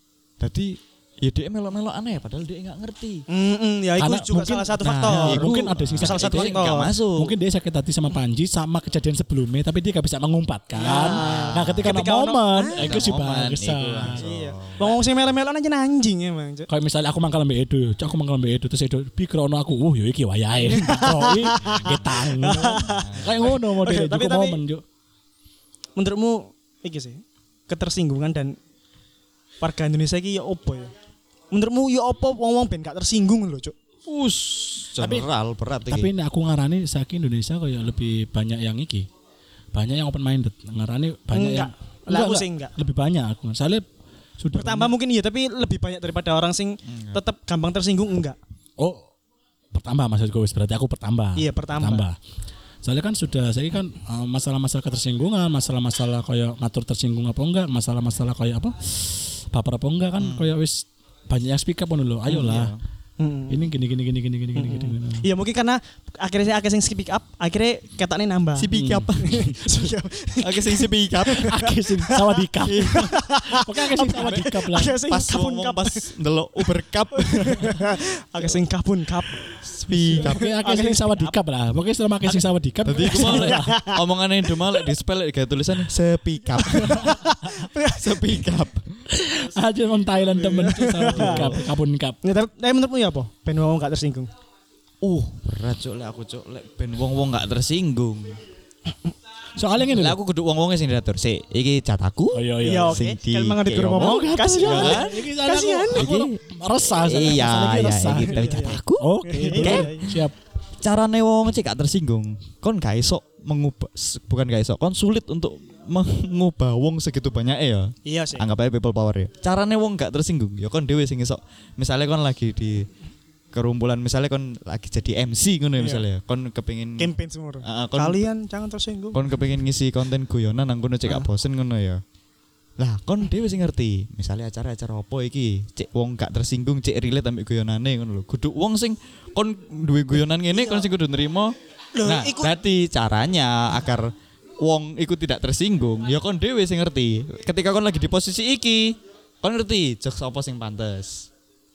[SPEAKER 1] Dadi ya dia melok-melok aneh padahal dia nggak ngerti.
[SPEAKER 2] Mm-mm, ya itu
[SPEAKER 3] Karena
[SPEAKER 2] juga
[SPEAKER 3] mungkin-
[SPEAKER 2] salah satu
[SPEAKER 3] nah,
[SPEAKER 2] faktor.
[SPEAKER 3] iya, mungkin ada sih
[SPEAKER 2] salah satu
[SPEAKER 1] dia
[SPEAKER 2] faktor.
[SPEAKER 1] nggak masuk.
[SPEAKER 3] Mungkin dia sakit hati sama Panji sama kejadian sebelumnya tapi dia gak bisa mengumpatkan. Nah, ketika,
[SPEAKER 2] Ketika
[SPEAKER 3] ada
[SPEAKER 2] ono-
[SPEAKER 3] momen,
[SPEAKER 2] ah,
[SPEAKER 3] itu sih
[SPEAKER 1] momen,
[SPEAKER 3] bagus.
[SPEAKER 1] iku langsung.
[SPEAKER 2] Iya. Wong sing melo-melon aja anjing emang Cuk.
[SPEAKER 3] Kayak misalnya aku mangkal mbek Edo, cok aku mangkal mbek Edo terus Edo pikrono aku, uh yo iki wayahe. Koi getang. Kayak ngono modelnya
[SPEAKER 2] Tapi-
[SPEAKER 3] juga
[SPEAKER 2] tapi-
[SPEAKER 3] momen, Cuk.
[SPEAKER 2] Menurutmu iki sih ketersinggungan dan warga Indonesia iki ya opo ya? Menurutmu ya opo wong-wong ben gak tersinggung lho, Cuk?
[SPEAKER 1] Us,
[SPEAKER 3] Tapi-
[SPEAKER 1] general berat iki.
[SPEAKER 3] Tapi ini aku ngarani saiki Indonesia kayak lebih banyak yang iki. Banyak yang open minded. Ngarani banyak
[SPEAKER 2] Enggak.
[SPEAKER 3] yang
[SPEAKER 2] Lah, aku sih enggak.
[SPEAKER 3] Lebih banyak aku. Soalnya sudah
[SPEAKER 2] Bertambah mungkin iya, tapi lebih banyak daripada orang sing tetap gampang tersinggung enggak?
[SPEAKER 3] Oh, bertambah maksudku wis berarti aku bertambah.
[SPEAKER 2] Iya, bertambah.
[SPEAKER 3] Soalnya kan sudah saya kan eh, masalah-masalah ketersinggungan, masalah-masalah kayak ngatur tersinggung apa enggak, masalah-masalah kayak apa? Baper apa enggak kan kayak wis banyak yang speak up ngono lho. Ayolah.
[SPEAKER 2] Hmm.
[SPEAKER 3] Ini gini gini gini gini gini gini gini. gini.
[SPEAKER 2] Iya mungkin karena akhirnya saya akhirnya sing speak up, akhirnya ketoknya nambah.
[SPEAKER 1] Speak up.
[SPEAKER 2] Speak up.
[SPEAKER 1] Oke sing speak up.
[SPEAKER 3] Akeh sing sawadikap. Oke akeh sing sawadikap lah.
[SPEAKER 2] Akhirnya sing
[SPEAKER 1] Pas
[SPEAKER 2] kapun
[SPEAKER 1] ngomong
[SPEAKER 2] kap.
[SPEAKER 1] pas ndelok Uber Cup.
[SPEAKER 2] Akhirnya sing kapun kap.
[SPEAKER 1] Speak up.
[SPEAKER 3] Oke akeh sing sawadikap lah. Pokoknya setelah akeh sing sawadikap.
[SPEAKER 1] Dadi iku mau lek omongane Doma lek di spell lek gawe tulisan speak up. Speak up.
[SPEAKER 3] Aja orang Thailand temen Cuk, sama di kap, kapun kap.
[SPEAKER 2] Ya, tapi, tapi menurutmu ya apa? Ben wong gak tersinggung.
[SPEAKER 1] Uh, berat cuk lek aku cuk lek ben wong-wong gak tersinggung.
[SPEAKER 3] Soalnya ngene
[SPEAKER 1] Lek
[SPEAKER 3] lho.
[SPEAKER 1] aku kudu wong-wonge sing diatur. Sik, iki cataku.
[SPEAKER 3] Oh iya
[SPEAKER 2] Iya
[SPEAKER 3] iya.
[SPEAKER 2] oke.
[SPEAKER 1] Sing di-
[SPEAKER 2] Kan mangan
[SPEAKER 1] kayak
[SPEAKER 2] di ngomong.
[SPEAKER 1] ngomong.
[SPEAKER 2] Kasihan.
[SPEAKER 1] Kan?
[SPEAKER 3] Iki
[SPEAKER 2] Kasihan.
[SPEAKER 3] Aku resah sama
[SPEAKER 1] Iya,
[SPEAKER 3] masalah iki
[SPEAKER 1] iya,
[SPEAKER 3] resah.
[SPEAKER 1] iki tapi cataku.
[SPEAKER 3] Oke,
[SPEAKER 2] Iya,
[SPEAKER 3] oke.
[SPEAKER 2] iya.
[SPEAKER 3] Siap.
[SPEAKER 1] Carane wong cek gak tersinggung. Kon gak iso mengubah s- bukan gak iso, kon sulit untuk mengubah wong segitu banyak ya.
[SPEAKER 2] Iya sih.
[SPEAKER 1] Anggap aja people power ya. Carane wong gak tersinggung, ya kon dhewe sing iso. Misalnya kon lagi di kerumpulan, misalnya kon lagi jadi M C ngono ya
[SPEAKER 2] Iya.
[SPEAKER 1] misalnya. Kon kepengin
[SPEAKER 2] Campaign semua.
[SPEAKER 1] Ah, kon-
[SPEAKER 2] Kalian jangan tersinggung.
[SPEAKER 1] kon kepengin ngisi konten guyonan nang kono cek gak bosen ngono ya. Lah kon dhewe sing ngerti. Misalnya acara-acara apa iki, cek wong gak tersinggung, cek relate ambek guyonane ngono lho. Kudu wong sing kon duwe guyonan ngene kon sing kudu nrimo.
[SPEAKER 2] Loh,
[SPEAKER 1] Nah,
[SPEAKER 2] iku-
[SPEAKER 1] berarti caranya agar wong iku tidak tersinggung, ya kon dhewe sing ngerti. Ketika kon lagi di posisi iki, kon ngerti jokes apa sing pantes.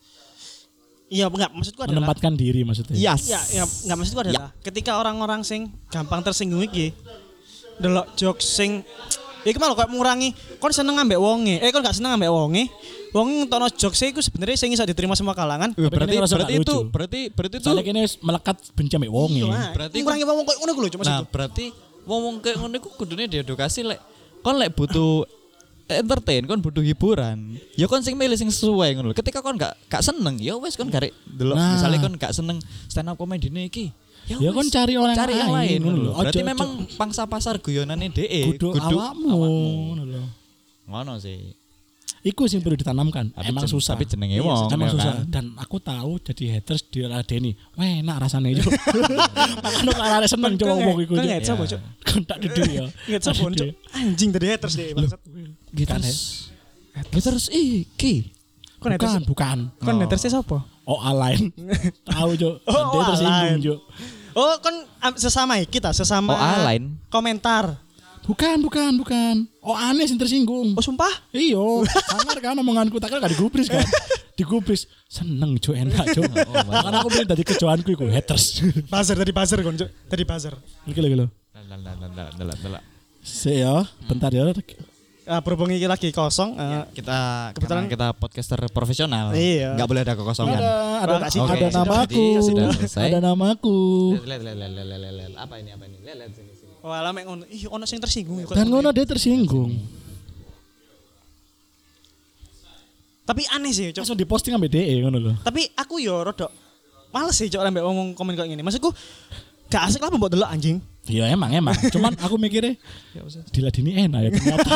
[SPEAKER 2] Iya, enggak maksudku adalah
[SPEAKER 3] Menempatkan diri maksudnya.
[SPEAKER 1] Yes.
[SPEAKER 2] Iya, ya, enggak maksudku adalah ketika orang-orang sing gampang tersinggung iki delok jokes sing iki malah kok mengurangi kon seneng ambek wonge. Eh kon gak seneng ambek wonge. Wong ngetokno jokes iku sebenarnya sing iso diterima semua kalangan.
[SPEAKER 1] Eh,
[SPEAKER 3] Tapi
[SPEAKER 1] berarti
[SPEAKER 3] ini ngerasa
[SPEAKER 1] berarti
[SPEAKER 3] gak
[SPEAKER 1] itu
[SPEAKER 3] lucu.
[SPEAKER 1] berarti berarti itu
[SPEAKER 3] Soalnya kini wis melekat benci ambek wonge.
[SPEAKER 2] Iya,
[SPEAKER 1] berarti
[SPEAKER 2] berarti mengurangi wong koyo ngono ku lho cuma
[SPEAKER 1] Nah,
[SPEAKER 2] maksudku.
[SPEAKER 1] berarti wong-wong kayak ngono iku kudune diedukasi lek kon lek butuh entertain, kon butuh hiburan. Ya kon sing milih sing sesuai ngono lho. Ketika kon gak gak seneng, ya wis kon garek delok
[SPEAKER 3] Nah.
[SPEAKER 1] misalnya kon gak seneng stand up comedy iki.
[SPEAKER 3] Ya
[SPEAKER 1] wis,
[SPEAKER 3] kon cari orang
[SPEAKER 1] cari yang
[SPEAKER 3] lain,
[SPEAKER 1] lain
[SPEAKER 3] ngono
[SPEAKER 1] ngono
[SPEAKER 3] lho.
[SPEAKER 1] lho. Berarti
[SPEAKER 3] Ojo-
[SPEAKER 1] memang pangsa pasar guyonane dhek
[SPEAKER 3] Kudu awakmu. ngono lho.
[SPEAKER 1] Ngono sih.
[SPEAKER 3] Iku sing perlu ditanamkan.
[SPEAKER 1] Tapi
[SPEAKER 3] Emang
[SPEAKER 1] jen-
[SPEAKER 3] susah.
[SPEAKER 1] Tapi jenenge
[SPEAKER 2] Iya,
[SPEAKER 1] wong.
[SPEAKER 3] Emang
[SPEAKER 1] ya
[SPEAKER 3] susah.
[SPEAKER 1] kan?
[SPEAKER 3] Dan aku tahu jadi haters diladeni. Wah, enak rasanya itu. Makanya kalau ada seneng coba ngomong iku.
[SPEAKER 2] Kan
[SPEAKER 3] Cuk.
[SPEAKER 2] nggak coba,
[SPEAKER 1] Iya.
[SPEAKER 2] Cuk.
[SPEAKER 3] Kan tak dede ya.
[SPEAKER 2] Nggak coba, Cuk. Anjing tadi haters deh bangsat.
[SPEAKER 1] Haters. Haters iki.
[SPEAKER 2] Kon haters.
[SPEAKER 3] Bukan, bukan.
[SPEAKER 2] Kon haters sapa?
[SPEAKER 3] Oh, alain. Tahu, Cuk.
[SPEAKER 2] Oh,
[SPEAKER 3] Dan dia
[SPEAKER 2] oh,
[SPEAKER 3] tersinggung,
[SPEAKER 2] alain.
[SPEAKER 3] Cuk.
[SPEAKER 2] Oh, kon am- sesama ya, kita sesama
[SPEAKER 1] Oh, alain.
[SPEAKER 2] komentar.
[SPEAKER 3] Bukan, bukan, bukan. Oh, aneh sing tersinggung.
[SPEAKER 2] Oh, sumpah?
[SPEAKER 3] Iyo, sangar kan omonganku tak kan gak digubris kan. Digubris seneng Cuk, enak Cuk. Makanya aku pilih dari kejoanku iku haters.
[SPEAKER 2] Buzzer tadi buzzer kon, Cuk. Tadi buzzer.
[SPEAKER 3] Iki lho, iki lho.
[SPEAKER 1] Delak-delak.
[SPEAKER 3] Sik ya, bentar ya.
[SPEAKER 2] Ah, berhubung iki lagi kosong. eh,
[SPEAKER 1] Kita
[SPEAKER 2] Kebetulan-
[SPEAKER 1] kebetulan kita podcaster profesional.
[SPEAKER 2] Iya.
[SPEAKER 1] Enggak boleh ada kekosongan.
[SPEAKER 3] Ada ada,
[SPEAKER 2] Oke,
[SPEAKER 3] ada
[SPEAKER 2] sudah,
[SPEAKER 3] namaku.
[SPEAKER 1] sudah, sudah selesai.
[SPEAKER 3] Ada namaku.
[SPEAKER 1] Lihat, lihat, lihat, lihat, lihat, lihat. Apa ini? Apa ini? Lihat, lihat sini, sini.
[SPEAKER 2] Oh, alah mek ngono. Ih, ono sing tersinggung. kok.
[SPEAKER 3] Dan ngono dia tersinggung.
[SPEAKER 2] Tapi aneh sih, Cuk.
[SPEAKER 3] Langsung diposting ambek D E ngono lho.
[SPEAKER 2] Tapi aku yo rodok males sih Cuk ambek ngomong komen kayak gini. Maksudku gak asik lah mbok delok anjing.
[SPEAKER 3] Iya emang emang. Cuman aku mikirnya diladini enak ya ternyata.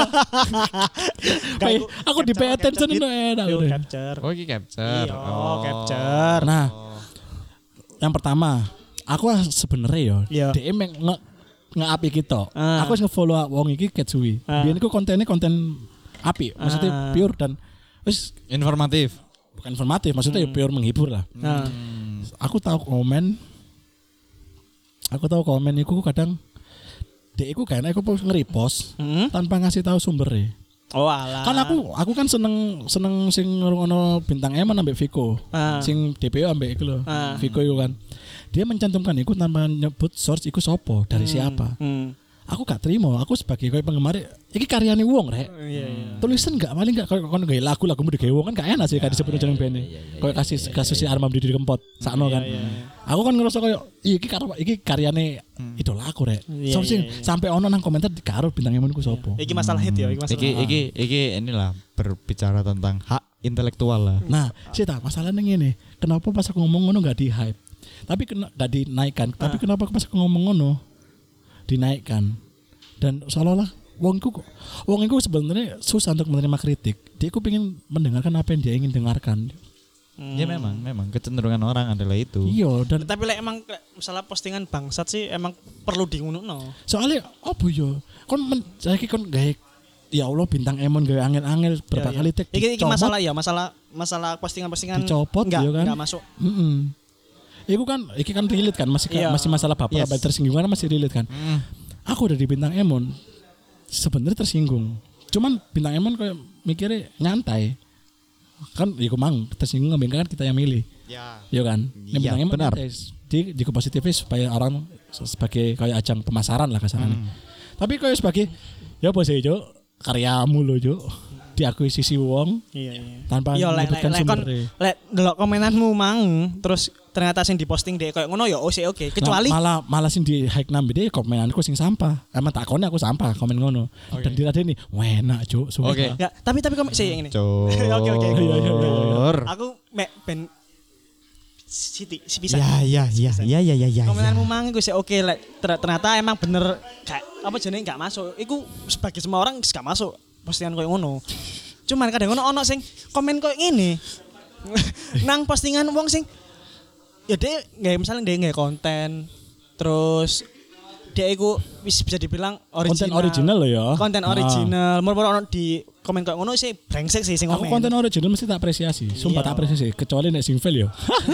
[SPEAKER 3] Kayak aku di pay attention itu enak.
[SPEAKER 2] Yo
[SPEAKER 3] udah.
[SPEAKER 2] capture.
[SPEAKER 1] Oh, ini capture.
[SPEAKER 2] Iya, capture.
[SPEAKER 3] Nah, yang pertama, aku sebenarnya yo,
[SPEAKER 2] Iya.
[SPEAKER 3] D M nge nge-api kita.
[SPEAKER 2] Ah.
[SPEAKER 3] Aku wis nge-follow wong iki ket suwi.
[SPEAKER 2] Ah.
[SPEAKER 3] Biyen iku kontennya konten api, maksudnya
[SPEAKER 2] Ah.
[SPEAKER 3] pure dan wis
[SPEAKER 1] Informatif.
[SPEAKER 3] bukan informatif, maksudnya ya pure menghibur lah.
[SPEAKER 2] Nah,
[SPEAKER 3] Aku tahu komen Aku tahu komen iku kadang Dek iku kan aku nge-repost
[SPEAKER 2] hmm?
[SPEAKER 3] tanpa ngasih tahu sumbernya.
[SPEAKER 2] Oh alah.
[SPEAKER 3] Kan aku aku kan seneng seneng sing ngrungokno bintang Eman ambek Viko.
[SPEAKER 2] Ah.
[SPEAKER 3] Sing D P O ambek iku lho.
[SPEAKER 2] Ah.
[SPEAKER 3] Viko iku kan. Dia mencantumkan iku tanpa nyebut source iku sopo, dari siapa.
[SPEAKER 2] Hmm.
[SPEAKER 3] Aku gak terima, aku sebagai koyo penggemar iki karyane wong rek.
[SPEAKER 2] Iya, iya.
[SPEAKER 3] Tulisan gak paling gak koyo kon gawe lagu-lagumu digawe wong kan gak enak sih kan disebut jeneng band. Koyo kasus kasus si Armam Didi Kempot sakno kan. Aku kan ngerasa koyo iki karo iki karyane idola aku rek.
[SPEAKER 2] Iya,
[SPEAKER 3] So, sing
[SPEAKER 2] iya, iya.
[SPEAKER 3] sampai ono nang komentar karo bintang Eman iku sopo.
[SPEAKER 2] Iki masalah hit ya, iki masalah.
[SPEAKER 1] Iki iki iki inilah berbicara tentang hak intelektual lah.
[SPEAKER 3] Nah, sih tak masalahnya ngene. Kenapa pas aku ngomong ngono gak di hype? Tapi kena gak dinaikkan. Tapi kenapa pas aku ngomong ngono dinaikkan? Dan seolah-olah wong iku kok- wong iku sebenarnya susah untuk menerima kritik. Dia iku pengen mendengarkan apa yang dia ingin dengarkan.
[SPEAKER 1] Ya memang, memang kecenderungan orang adalah itu.
[SPEAKER 3] Iya, dan
[SPEAKER 2] Tapi lek emang lek masalah postingan bangsat sih emang perlu diunukno.
[SPEAKER 3] soalnya apa yo? Kon men, saiki kon gawe ya Allah bintang Emon gawe angel-angel berapa
[SPEAKER 2] Iya, iya.
[SPEAKER 3] kali tek
[SPEAKER 2] Iki iki
[SPEAKER 3] dicomot,
[SPEAKER 2] masalah ya, masalah masalah postingan-postingan
[SPEAKER 3] Dicopot,
[SPEAKER 2] enggak,
[SPEAKER 3] ya kan?
[SPEAKER 2] enggak masuk.
[SPEAKER 3] Mm-mm. Iku kan, iki kan relate kan, masih
[SPEAKER 2] Iya.
[SPEAKER 3] masih masalah bapak
[SPEAKER 1] Yes.
[SPEAKER 3] apa tersinggung kan masih relate kan.
[SPEAKER 1] Mm.
[SPEAKER 3] Aku udah di bintang Emon, sebenarnya tersinggung. Cuman bintang Emon kayak mikirnya nyantai. Kan, ya mang tersinggung ngambil kan kita yang milih,
[SPEAKER 1] Ya.
[SPEAKER 3] ya kan. Ini
[SPEAKER 1] Iya,
[SPEAKER 3] bintang Emon
[SPEAKER 1] benar.
[SPEAKER 3] nyantai. Di, di positifnya supaya orang sebagai kayak ajang pemasaran lah kasarannya.
[SPEAKER 1] Hmm.
[SPEAKER 3] Tapi kayak sebagai ya apa sih Jo, karyamu lo Jo. diakuisisi wong
[SPEAKER 2] Iya iya.
[SPEAKER 3] tanpa
[SPEAKER 2] Iya lek lek
[SPEAKER 3] menyebutkan
[SPEAKER 2] lek kon
[SPEAKER 3] sumbernya.
[SPEAKER 2] lek delok komenanmu mang terus ternyata sing diposting dek koyo ngono ya oh sih oke. Kecuali
[SPEAKER 3] Nah, malah malah sing di hike nambe deh komenanku sing sampah. Emang takone aku sampah komen ngono. Dan diladeni, "Enak, Cuk." Sumpah.
[SPEAKER 1] Oke.
[SPEAKER 2] enggak, tapi tapi komen sih yang ini.
[SPEAKER 1] Cur.
[SPEAKER 2] Oke oke. oke.
[SPEAKER 3] Iya, iya, iya, iya.
[SPEAKER 2] Aku mek ben Siti, si bisa.
[SPEAKER 1] Ya ya ya ya ya ya ya.
[SPEAKER 2] Komenanmu mang iku sih oke lek ter- ternyata emang bener kayak apa jenenge enggak masuk. Iku sebagai semua orang enggak masuk postingan koyo ngono. Cuman kadang ono ono sing komen koyo ngene. Nang postingan wong sing ya dia nggak misalnya dia nggak konten terus dia iku wis bisa dibilang original.
[SPEAKER 3] Konten original loh ya.
[SPEAKER 2] Konten
[SPEAKER 3] Ah.
[SPEAKER 2] original. Moro-moro ono di komen kayak ngono sih brengsek sih sing
[SPEAKER 3] Aku
[SPEAKER 2] komen.
[SPEAKER 3] konten original mesti tak apresiasi. Sumpah
[SPEAKER 2] Iya.
[SPEAKER 3] tak apresiasi kecuali nek sing fail yo.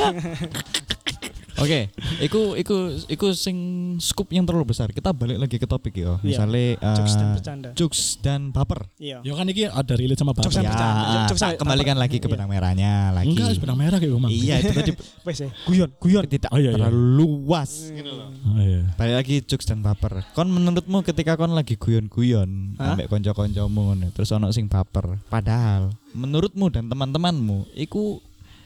[SPEAKER 1] Oke, iku iku iku sing scoop yang terlalu besar. Kita balik lagi ke topik ya.
[SPEAKER 2] Iya.
[SPEAKER 1] Misalnya eh,
[SPEAKER 2] Jokes dan bercanda.
[SPEAKER 1] jokes dan baper.
[SPEAKER 2] Iya.
[SPEAKER 3] Yo kan iki ada relate sama
[SPEAKER 2] Jokes
[SPEAKER 3] bapak.
[SPEAKER 2] dan bercanda.
[SPEAKER 1] Ya,
[SPEAKER 2] Jokes
[SPEAKER 1] tak
[SPEAKER 2] dan-
[SPEAKER 1] kembalikan lagi ke
[SPEAKER 2] Iya.
[SPEAKER 1] benang merahnya lagi.
[SPEAKER 3] Enggak, benang merah kayak Mang.
[SPEAKER 1] Iya, itu tadi
[SPEAKER 2] Wes ya. Guyon, guyon.
[SPEAKER 1] tidak
[SPEAKER 3] Oh, iya, iya.
[SPEAKER 1] terlalu luas gitu loh.
[SPEAKER 3] Oh iya.
[SPEAKER 1] Balik lagi jokes dan baper. Kon menurutmu ketika kon lagi guyon-guyon
[SPEAKER 2] Hah?
[SPEAKER 1] ambek kanca-kancamu ngono, terus ono sing baper. Padahal menurutmu dan teman-temanmu iku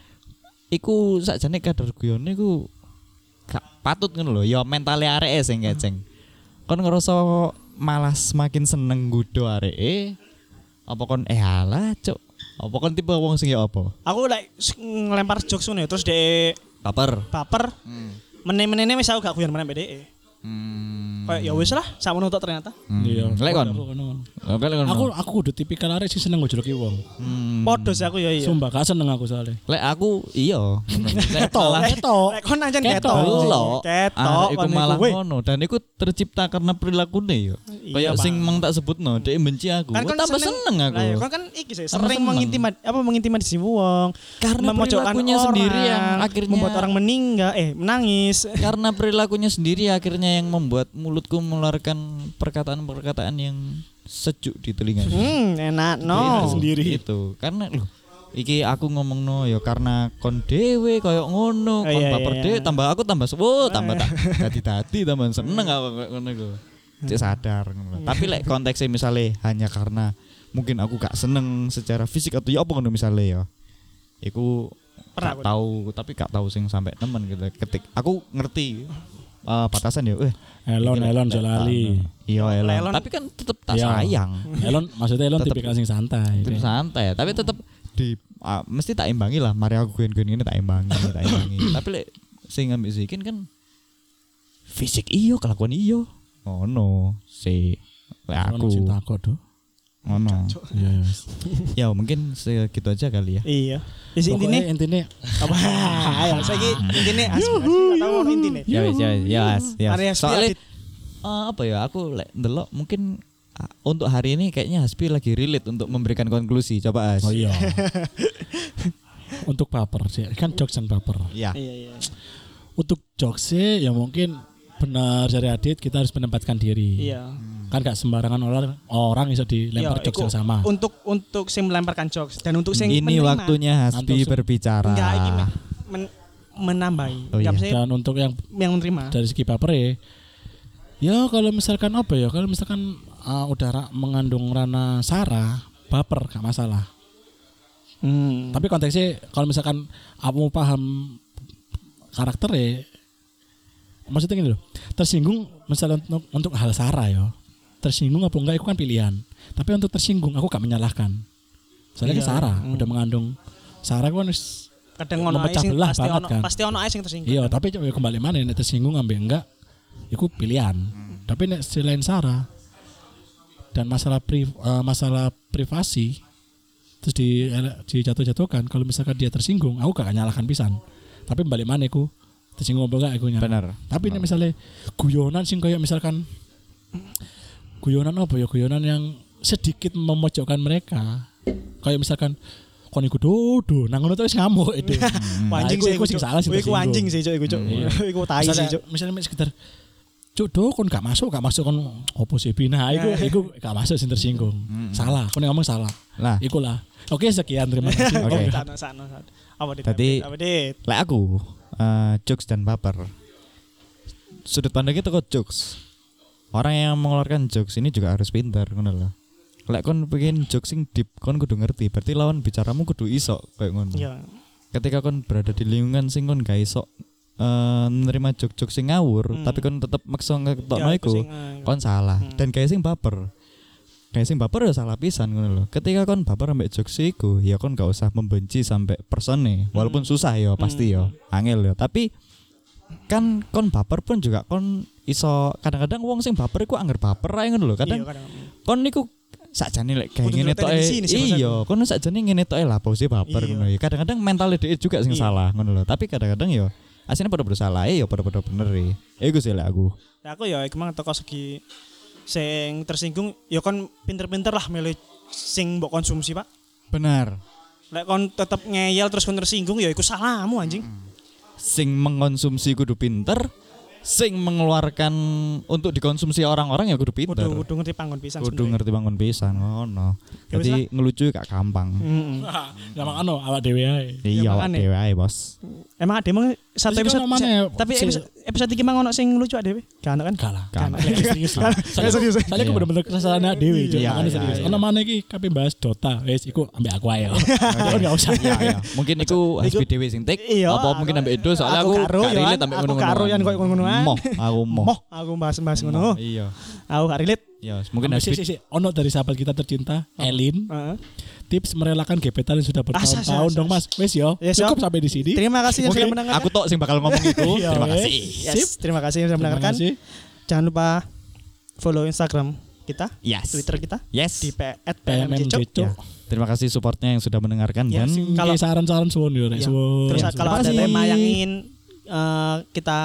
[SPEAKER 1] iku sakjane kadar guyon iku gak patut ngono lho. Ya mentale areke sing keceng. Kon ngerasa malah semakin seneng nggodho areke apa kon eh alah cuk. Apa kon tipe wong sing ya apa?
[SPEAKER 2] Aku lek like, ngelempar jokes ngono ya, terus dia
[SPEAKER 1] Baper.
[SPEAKER 2] baper.
[SPEAKER 1] Hmm.
[SPEAKER 2] Meneh-meneh wis aku gak guyon meneh mbek dhek.
[SPEAKER 1] Hmm.
[SPEAKER 2] Kayak ya wis lah, sak menutup ternyata.
[SPEAKER 1] Hmm.
[SPEAKER 3] Iya.
[SPEAKER 1] Lek kon.
[SPEAKER 3] Aku ngono.
[SPEAKER 1] Oke, lek kon.
[SPEAKER 3] Aku aku kudu tipikal arek sing seneng ngojoloki wong.
[SPEAKER 1] Hmm.
[SPEAKER 2] Podo sih aku ya iya.
[SPEAKER 3] Sumpah gak seneng aku soalnya.
[SPEAKER 1] Lek aku iya. Lek
[SPEAKER 3] Ketok,
[SPEAKER 1] malah
[SPEAKER 3] ketok.
[SPEAKER 2] Lek kon ancen
[SPEAKER 3] Ketok.
[SPEAKER 2] ketok.
[SPEAKER 1] delok.
[SPEAKER 2] Ketok.
[SPEAKER 1] Ah, iku
[SPEAKER 2] kon
[SPEAKER 1] malah
[SPEAKER 2] iku, weh.
[SPEAKER 1] ngono dan iku tercipta karena perilakune yo.
[SPEAKER 2] Iya,
[SPEAKER 1] Kayak
[SPEAKER 2] Pak.
[SPEAKER 1] sing mang tak sebutno, dhek benci aku.
[SPEAKER 2] Kan
[SPEAKER 1] Oh,
[SPEAKER 2] kon
[SPEAKER 1] tambah seneng aku.
[SPEAKER 2] Lah ya kon kan iki sih
[SPEAKER 1] Tambah
[SPEAKER 2] sering
[SPEAKER 1] seneng.
[SPEAKER 2] mengintimid apa mengintimidasi wong.
[SPEAKER 1] Karena
[SPEAKER 2] memojokkan
[SPEAKER 1] perilakunya
[SPEAKER 2] orang,
[SPEAKER 1] sendiri yang akhirnya-
[SPEAKER 2] membuat orang meninggal eh menangis.
[SPEAKER 1] Karena perilakunya sendiri akhirnya yang membuat mulutku mengeluarkan perkataan-perkataan yang sejuk di telinga.
[SPEAKER 2] Hmm, enak no.
[SPEAKER 3] Sendiri.
[SPEAKER 1] Itu karena loh iki aku ngomongno ya karena kon dhewe koyo ngono,
[SPEAKER 2] Oh,
[SPEAKER 1] kon
[SPEAKER 2] iya,
[SPEAKER 1] baper
[SPEAKER 2] iya,
[SPEAKER 1] dhewe
[SPEAKER 2] iya.
[SPEAKER 1] tambah aku tambah sewo, tambah tak dadi-dadi tambah seneng aku koyo ngono iku. Cek sadar ngono. Tapi lek konteksnya misalnya hanya karena mungkin aku gak seneng secara fisik atau ya apa ngono misalnya ya. Iku
[SPEAKER 2] Pernah
[SPEAKER 1] gak
[SPEAKER 2] aku.
[SPEAKER 1] tahu tapi gak tahu sing sampai temen gitu. Ketik aku ngerti eh, batasan ya. Eh,
[SPEAKER 3] Elon
[SPEAKER 1] iki lek-
[SPEAKER 3] Elon
[SPEAKER 1] lek-
[SPEAKER 3] Jolali.
[SPEAKER 1] Iya Elon.
[SPEAKER 2] Elon-
[SPEAKER 1] Tapi kan tetep tak
[SPEAKER 3] Iya.
[SPEAKER 1] sayang.
[SPEAKER 3] Elon maksudnya Elon
[SPEAKER 1] Tetep-
[SPEAKER 3] tipikal sing santai.
[SPEAKER 1] Tim santai tapi tetap di ah, mesti tak imbangi lah mari aku guyon-guyon ini tak imbangi tak imbangi tapi lek sing ngambil zikin kan fisik iyo kelakuan iyo ngono si lek
[SPEAKER 3] Elon sing
[SPEAKER 1] aku
[SPEAKER 3] takut tuh.
[SPEAKER 1] ngono
[SPEAKER 3] Iya iya.
[SPEAKER 1] ya mungkin segitu aja kali ya
[SPEAKER 2] Iya. Wis intine
[SPEAKER 3] Pokoknya intinya
[SPEAKER 2] apa? Ayo saiki intine asli asli tahu ono intine.
[SPEAKER 1] ya wes ya wes, ya wes, ya
[SPEAKER 2] Mari
[SPEAKER 1] wes.
[SPEAKER 2] Hasbi
[SPEAKER 1] soalnya
[SPEAKER 2] Adit.
[SPEAKER 1] eh, apa ya aku lek ndelok mungkin ah, untuk hari ini kayaknya Hasbi lagi relate untuk memberikan konklusi coba As
[SPEAKER 3] oh iya. Untuk baper sih kan jokes dan baper.
[SPEAKER 1] ya
[SPEAKER 2] Iya iya.
[SPEAKER 3] Untuk jokes sih ya mungkin benar dari Adit kita harus menempatkan diri.
[SPEAKER 2] Iya.
[SPEAKER 3] Kan gak sembarangan orang orang bisa dilempar
[SPEAKER 2] Iya,
[SPEAKER 3] jokes
[SPEAKER 2] iku
[SPEAKER 3] yang sama.
[SPEAKER 2] Untuk untuk sing melemparkan jokes dan untuk sing
[SPEAKER 1] ini
[SPEAKER 2] menerima.
[SPEAKER 1] waktunya Hasbi
[SPEAKER 3] Untuk-
[SPEAKER 1] berbicara
[SPEAKER 2] Enggak iki men, men- menambahi.
[SPEAKER 1] Oh,
[SPEAKER 2] Enggak
[SPEAKER 1] iya.
[SPEAKER 2] mesti
[SPEAKER 3] Dan untuk yang
[SPEAKER 2] yang menerima.
[SPEAKER 3] dari segi baper ya, ya kalau misalkan apa ya, kalau misalkan uh, udara mengandung rana sara, baper gak masalah.
[SPEAKER 2] Hmm.
[SPEAKER 3] Tapi konteksnya kalau misalkan kamu paham karakter ya, maksudnya gini loh, tersinggung misalnya untuk, untuk hal sara ya, tersinggung apa enggak itu kan pilihan. Tapi untuk tersinggung aku gak menyalahkan. Soalnya
[SPEAKER 2] Iya.
[SPEAKER 3] kan sara
[SPEAKER 2] Hmm.
[SPEAKER 3] udah mengandung sara kan wis
[SPEAKER 2] kadang ono ae
[SPEAKER 3] memecah
[SPEAKER 2] sing
[SPEAKER 3] belah
[SPEAKER 2] pasti
[SPEAKER 3] banget
[SPEAKER 2] ono
[SPEAKER 3] kan.
[SPEAKER 2] pasti ono ae sing tersinggung.
[SPEAKER 3] iya, tapi coba kembali mana nek tersinggung ambil enggak, itu pilihan. Tapi nek selain sara dan masalah pri, eh, masalah privasi terus di dijatuh-jatuhkan kalau misalkan dia tersinggung aku gak nyalahkan pisan tapi balik mana aku tersinggung apa enggak aku nyala.
[SPEAKER 1] benar
[SPEAKER 3] Tapi ini misalnya guyonan sing kayak misalkan guyonan apa ya, guyonan yang sedikit memojokkan mereka kayak misalkan kon iku dodo nang ngono terus ngamuk itu.
[SPEAKER 2] Anjing
[SPEAKER 3] Nah,
[SPEAKER 2] sih
[SPEAKER 3] iku sing salah sing
[SPEAKER 2] Iku anjing sih cuk iku cuk.
[SPEAKER 3] Iya.
[SPEAKER 2] Iku tai sih
[SPEAKER 3] Misalnya,
[SPEAKER 2] cuk.
[SPEAKER 3] misalnya mek sekitar cuk do kon gak masuk gak masuk kon opo sih Bina iku iku gak masuk sing tersinggung. Salah, kon ngomong salah.
[SPEAKER 1] lah
[SPEAKER 3] Iku lah. Oke, sekian terima kasih.
[SPEAKER 1] Oke.
[SPEAKER 2] Sano sano. sano. Apa dit?
[SPEAKER 1] Tadi-
[SPEAKER 2] apa dit?
[SPEAKER 1] lek aku eh, jokes dan baper sudut pandangnya tuh kok jokes orang yang mengeluarkan jokes ini juga harus pintar ngono loh lek kon pengen jokes sing deep kon kudu ngerti berarti lawan bicaramu kudu iso kayak ngono.
[SPEAKER 2] Iya.
[SPEAKER 1] Ketika kon berada di lingkungan sing kon gak iso uh, nerima jok-jok sing ngawur
[SPEAKER 2] Hmm.
[SPEAKER 1] tapi kon tetep maksa ngetokno
[SPEAKER 2] Ya,
[SPEAKER 1] iku
[SPEAKER 2] sing, eh,
[SPEAKER 1] kon salah
[SPEAKER 2] Hmm.
[SPEAKER 1] dan kayak sing baper. Kayak sing baper ya salah pisan ngono lho. Ketika kon baper ambek jokes iku ya kon gak usah membenci sampai persone walaupun susah ya pasti ya angel ya tapi kan kon baper pun juga kon iso kadang-kadang wong sing baper iku angger baper ae ngono lho. Kadang
[SPEAKER 2] iya, kadang.
[SPEAKER 1] kon niku sakjane lek kayak
[SPEAKER 2] Kudu
[SPEAKER 1] ngene
[SPEAKER 2] ndelok
[SPEAKER 1] tok
[SPEAKER 2] televisi nih sih,
[SPEAKER 1] iya kon sakjane ngene tok lah pose baper
[SPEAKER 2] Iya.
[SPEAKER 1] ngono ya kadang-kadang mental dhek juga sing
[SPEAKER 2] Iya.
[SPEAKER 1] salah ngono lho tapi kadang-kadang ya asline padha-padha salah ya padha-padha bener e iku sih lek aku
[SPEAKER 2] Nah, aku ya iku mang teko segi sing tersinggung ya kon pinter-pinter lah milih sing mbok konsumsi, Pak.
[SPEAKER 1] bener
[SPEAKER 2] Lek kon tetep ngeyel terus kon tersinggung ya iku salahmu anjing.
[SPEAKER 1] sing mengkonsumsi kudu pinter sing mengeluarkan untuk dikonsumsi orang-orang ya kudu pinter
[SPEAKER 2] Kudu kudu ngerti panggon pisan.
[SPEAKER 1] kudu ngerti bangun pisan ngono
[SPEAKER 2] Ya wis
[SPEAKER 1] jadi ngelucu gak gampang
[SPEAKER 2] Heeh.
[SPEAKER 3] Ya makano awak dhewe ae.
[SPEAKER 1] iya awak
[SPEAKER 2] makane.
[SPEAKER 1] dhewe ae bos
[SPEAKER 2] Emang ademu satu
[SPEAKER 3] Terus
[SPEAKER 2] episode
[SPEAKER 3] kan mana ya,
[SPEAKER 2] tapi
[SPEAKER 3] si-
[SPEAKER 2] episode, episode iki mang ono sing lucu ademe. Gak ono kan?
[SPEAKER 3] Kalah.
[SPEAKER 1] Gak ono.
[SPEAKER 3] Serius.
[SPEAKER 2] Gak serius.
[SPEAKER 3] Soalnya aku
[SPEAKER 1] Iya.
[SPEAKER 3] bener-bener keresahan dhewe Cuk.
[SPEAKER 1] Iya,
[SPEAKER 3] Makanya
[SPEAKER 1] iya,
[SPEAKER 3] serius.
[SPEAKER 1] iya.
[SPEAKER 3] Ono mana iki kabeh bahas Dota. Wis iku ambek aku ae. Kon enggak usah.
[SPEAKER 1] iya iya mungkin iku H B Dewi sing tik
[SPEAKER 2] Iya,
[SPEAKER 1] apa
[SPEAKER 2] aku-
[SPEAKER 1] mungkin ambek Edo soalnya
[SPEAKER 2] aku
[SPEAKER 1] aku
[SPEAKER 2] karo,
[SPEAKER 1] gak
[SPEAKER 2] Yohan.
[SPEAKER 1] relate ambek
[SPEAKER 2] Aku
[SPEAKER 1] ngono-ngono
[SPEAKER 2] karo, Yan, koyo ngono-ngonoan.
[SPEAKER 1] moh aku moh
[SPEAKER 2] Moh, aku bahas-bahas ngono.
[SPEAKER 1] iya
[SPEAKER 2] Aku gak relate.
[SPEAKER 1] iya mungkin
[SPEAKER 3] Mungkin
[SPEAKER 1] H B
[SPEAKER 3] sih sih ono dari sahabat kita tercinta Elin.
[SPEAKER 2] Heeh.
[SPEAKER 3] Tips merelakan gebetan yang sudah
[SPEAKER 2] Asa, asa,
[SPEAKER 3] bertahun-tahun
[SPEAKER 2] asa.
[SPEAKER 3] dong Mas. Wis yo.
[SPEAKER 2] Yes, yo.
[SPEAKER 3] Cukup sampai di sini.
[SPEAKER 2] Terima kasih yang sudah
[SPEAKER 1] mungkin
[SPEAKER 2] mendengarkan.
[SPEAKER 1] aku tok sing bakal ngomong itu
[SPEAKER 3] Iya,
[SPEAKER 1] terima
[SPEAKER 3] wes.
[SPEAKER 1] kasih
[SPEAKER 2] Yes, terima kasih yang sudah
[SPEAKER 3] Terima
[SPEAKER 2] mendengarkan.
[SPEAKER 3] kasih.
[SPEAKER 2] Jangan lupa follow Instagram kita,
[SPEAKER 1] yes
[SPEAKER 2] Twitter kita
[SPEAKER 1] yes
[SPEAKER 2] di p at
[SPEAKER 3] P M M
[SPEAKER 2] pmjcok.
[SPEAKER 3] Cok.
[SPEAKER 1] Ya, terima kasih supportnya yang sudah mendengarkan
[SPEAKER 2] Ya,
[SPEAKER 1] dan
[SPEAKER 2] sing-
[SPEAKER 3] Kalau
[SPEAKER 2] Kalau-
[SPEAKER 3] saran-saran suwun yo rek
[SPEAKER 2] Iya.
[SPEAKER 3] suwun.
[SPEAKER 2] Terus
[SPEAKER 1] Ya,
[SPEAKER 2] kalau
[SPEAKER 1] terima
[SPEAKER 2] ada
[SPEAKER 1] kasih.
[SPEAKER 2] tema yang ingin eh, kita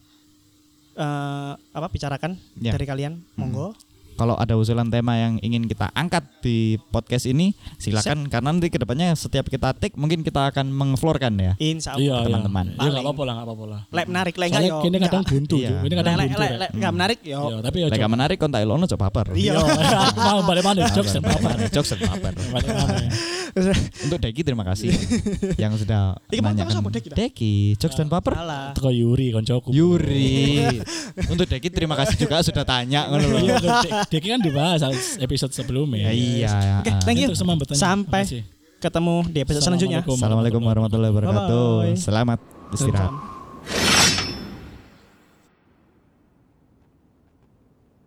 [SPEAKER 2] eh, apa bicarakan
[SPEAKER 1] Ya.
[SPEAKER 2] dari kalian, monggo.
[SPEAKER 1] kalau ada usulan tema yang ingin kita angkat di podcast ini silakan karena nanti kedepannya setiap kita take mungkin kita akan mengflorkan ya
[SPEAKER 2] Insya
[SPEAKER 3] Iya,
[SPEAKER 2] Allah.
[SPEAKER 1] teman-teman.
[SPEAKER 3] Iya enggak apa-apa lah, enggak apa-apa lah.
[SPEAKER 2] Lek menarik, lek enggak
[SPEAKER 3] Soalnya
[SPEAKER 2] yo.
[SPEAKER 3] kini kadang
[SPEAKER 2] enggak.
[SPEAKER 3] buntu,
[SPEAKER 1] Iya.
[SPEAKER 3] Cuk. Ini
[SPEAKER 2] Lek
[SPEAKER 3] kadang
[SPEAKER 2] lek
[SPEAKER 3] buntu.
[SPEAKER 2] lek
[SPEAKER 3] Rek.
[SPEAKER 2] lek enggak menarik yo.
[SPEAKER 3] Iya, tapi yo.
[SPEAKER 1] lek gak menarik kon tak elono coba baper
[SPEAKER 2] Iya.
[SPEAKER 3] Mau balik mana jokes dan apa?
[SPEAKER 1] jokes dan baper
[SPEAKER 3] Balik mana?
[SPEAKER 1] untuk Deki terima kasih yang sudah
[SPEAKER 2] Iki mau
[SPEAKER 1] menanyakan
[SPEAKER 2] terus apa, Deki, dah?
[SPEAKER 1] Deki jokes dan baper
[SPEAKER 2] Salah.
[SPEAKER 3] Teko Yuri koncoku.
[SPEAKER 1] Yuri untuk Deki terima kasih juga sudah tanya ngono loh.
[SPEAKER 3] Iya, Dek- Deki kan dibahas episode sebelumnya.
[SPEAKER 1] Ya, iya
[SPEAKER 2] Oke, thank you.
[SPEAKER 3] Untuk semua bertanya.
[SPEAKER 2] Sampai
[SPEAKER 3] Makasih.
[SPEAKER 2] ketemu di episode selanjutnya.
[SPEAKER 3] Assalamualaikum
[SPEAKER 1] Assalamualaikum warahmatullahi wabarakatuh
[SPEAKER 2] Bye-bye.
[SPEAKER 1] selamat istirahat
[SPEAKER 2] Salam.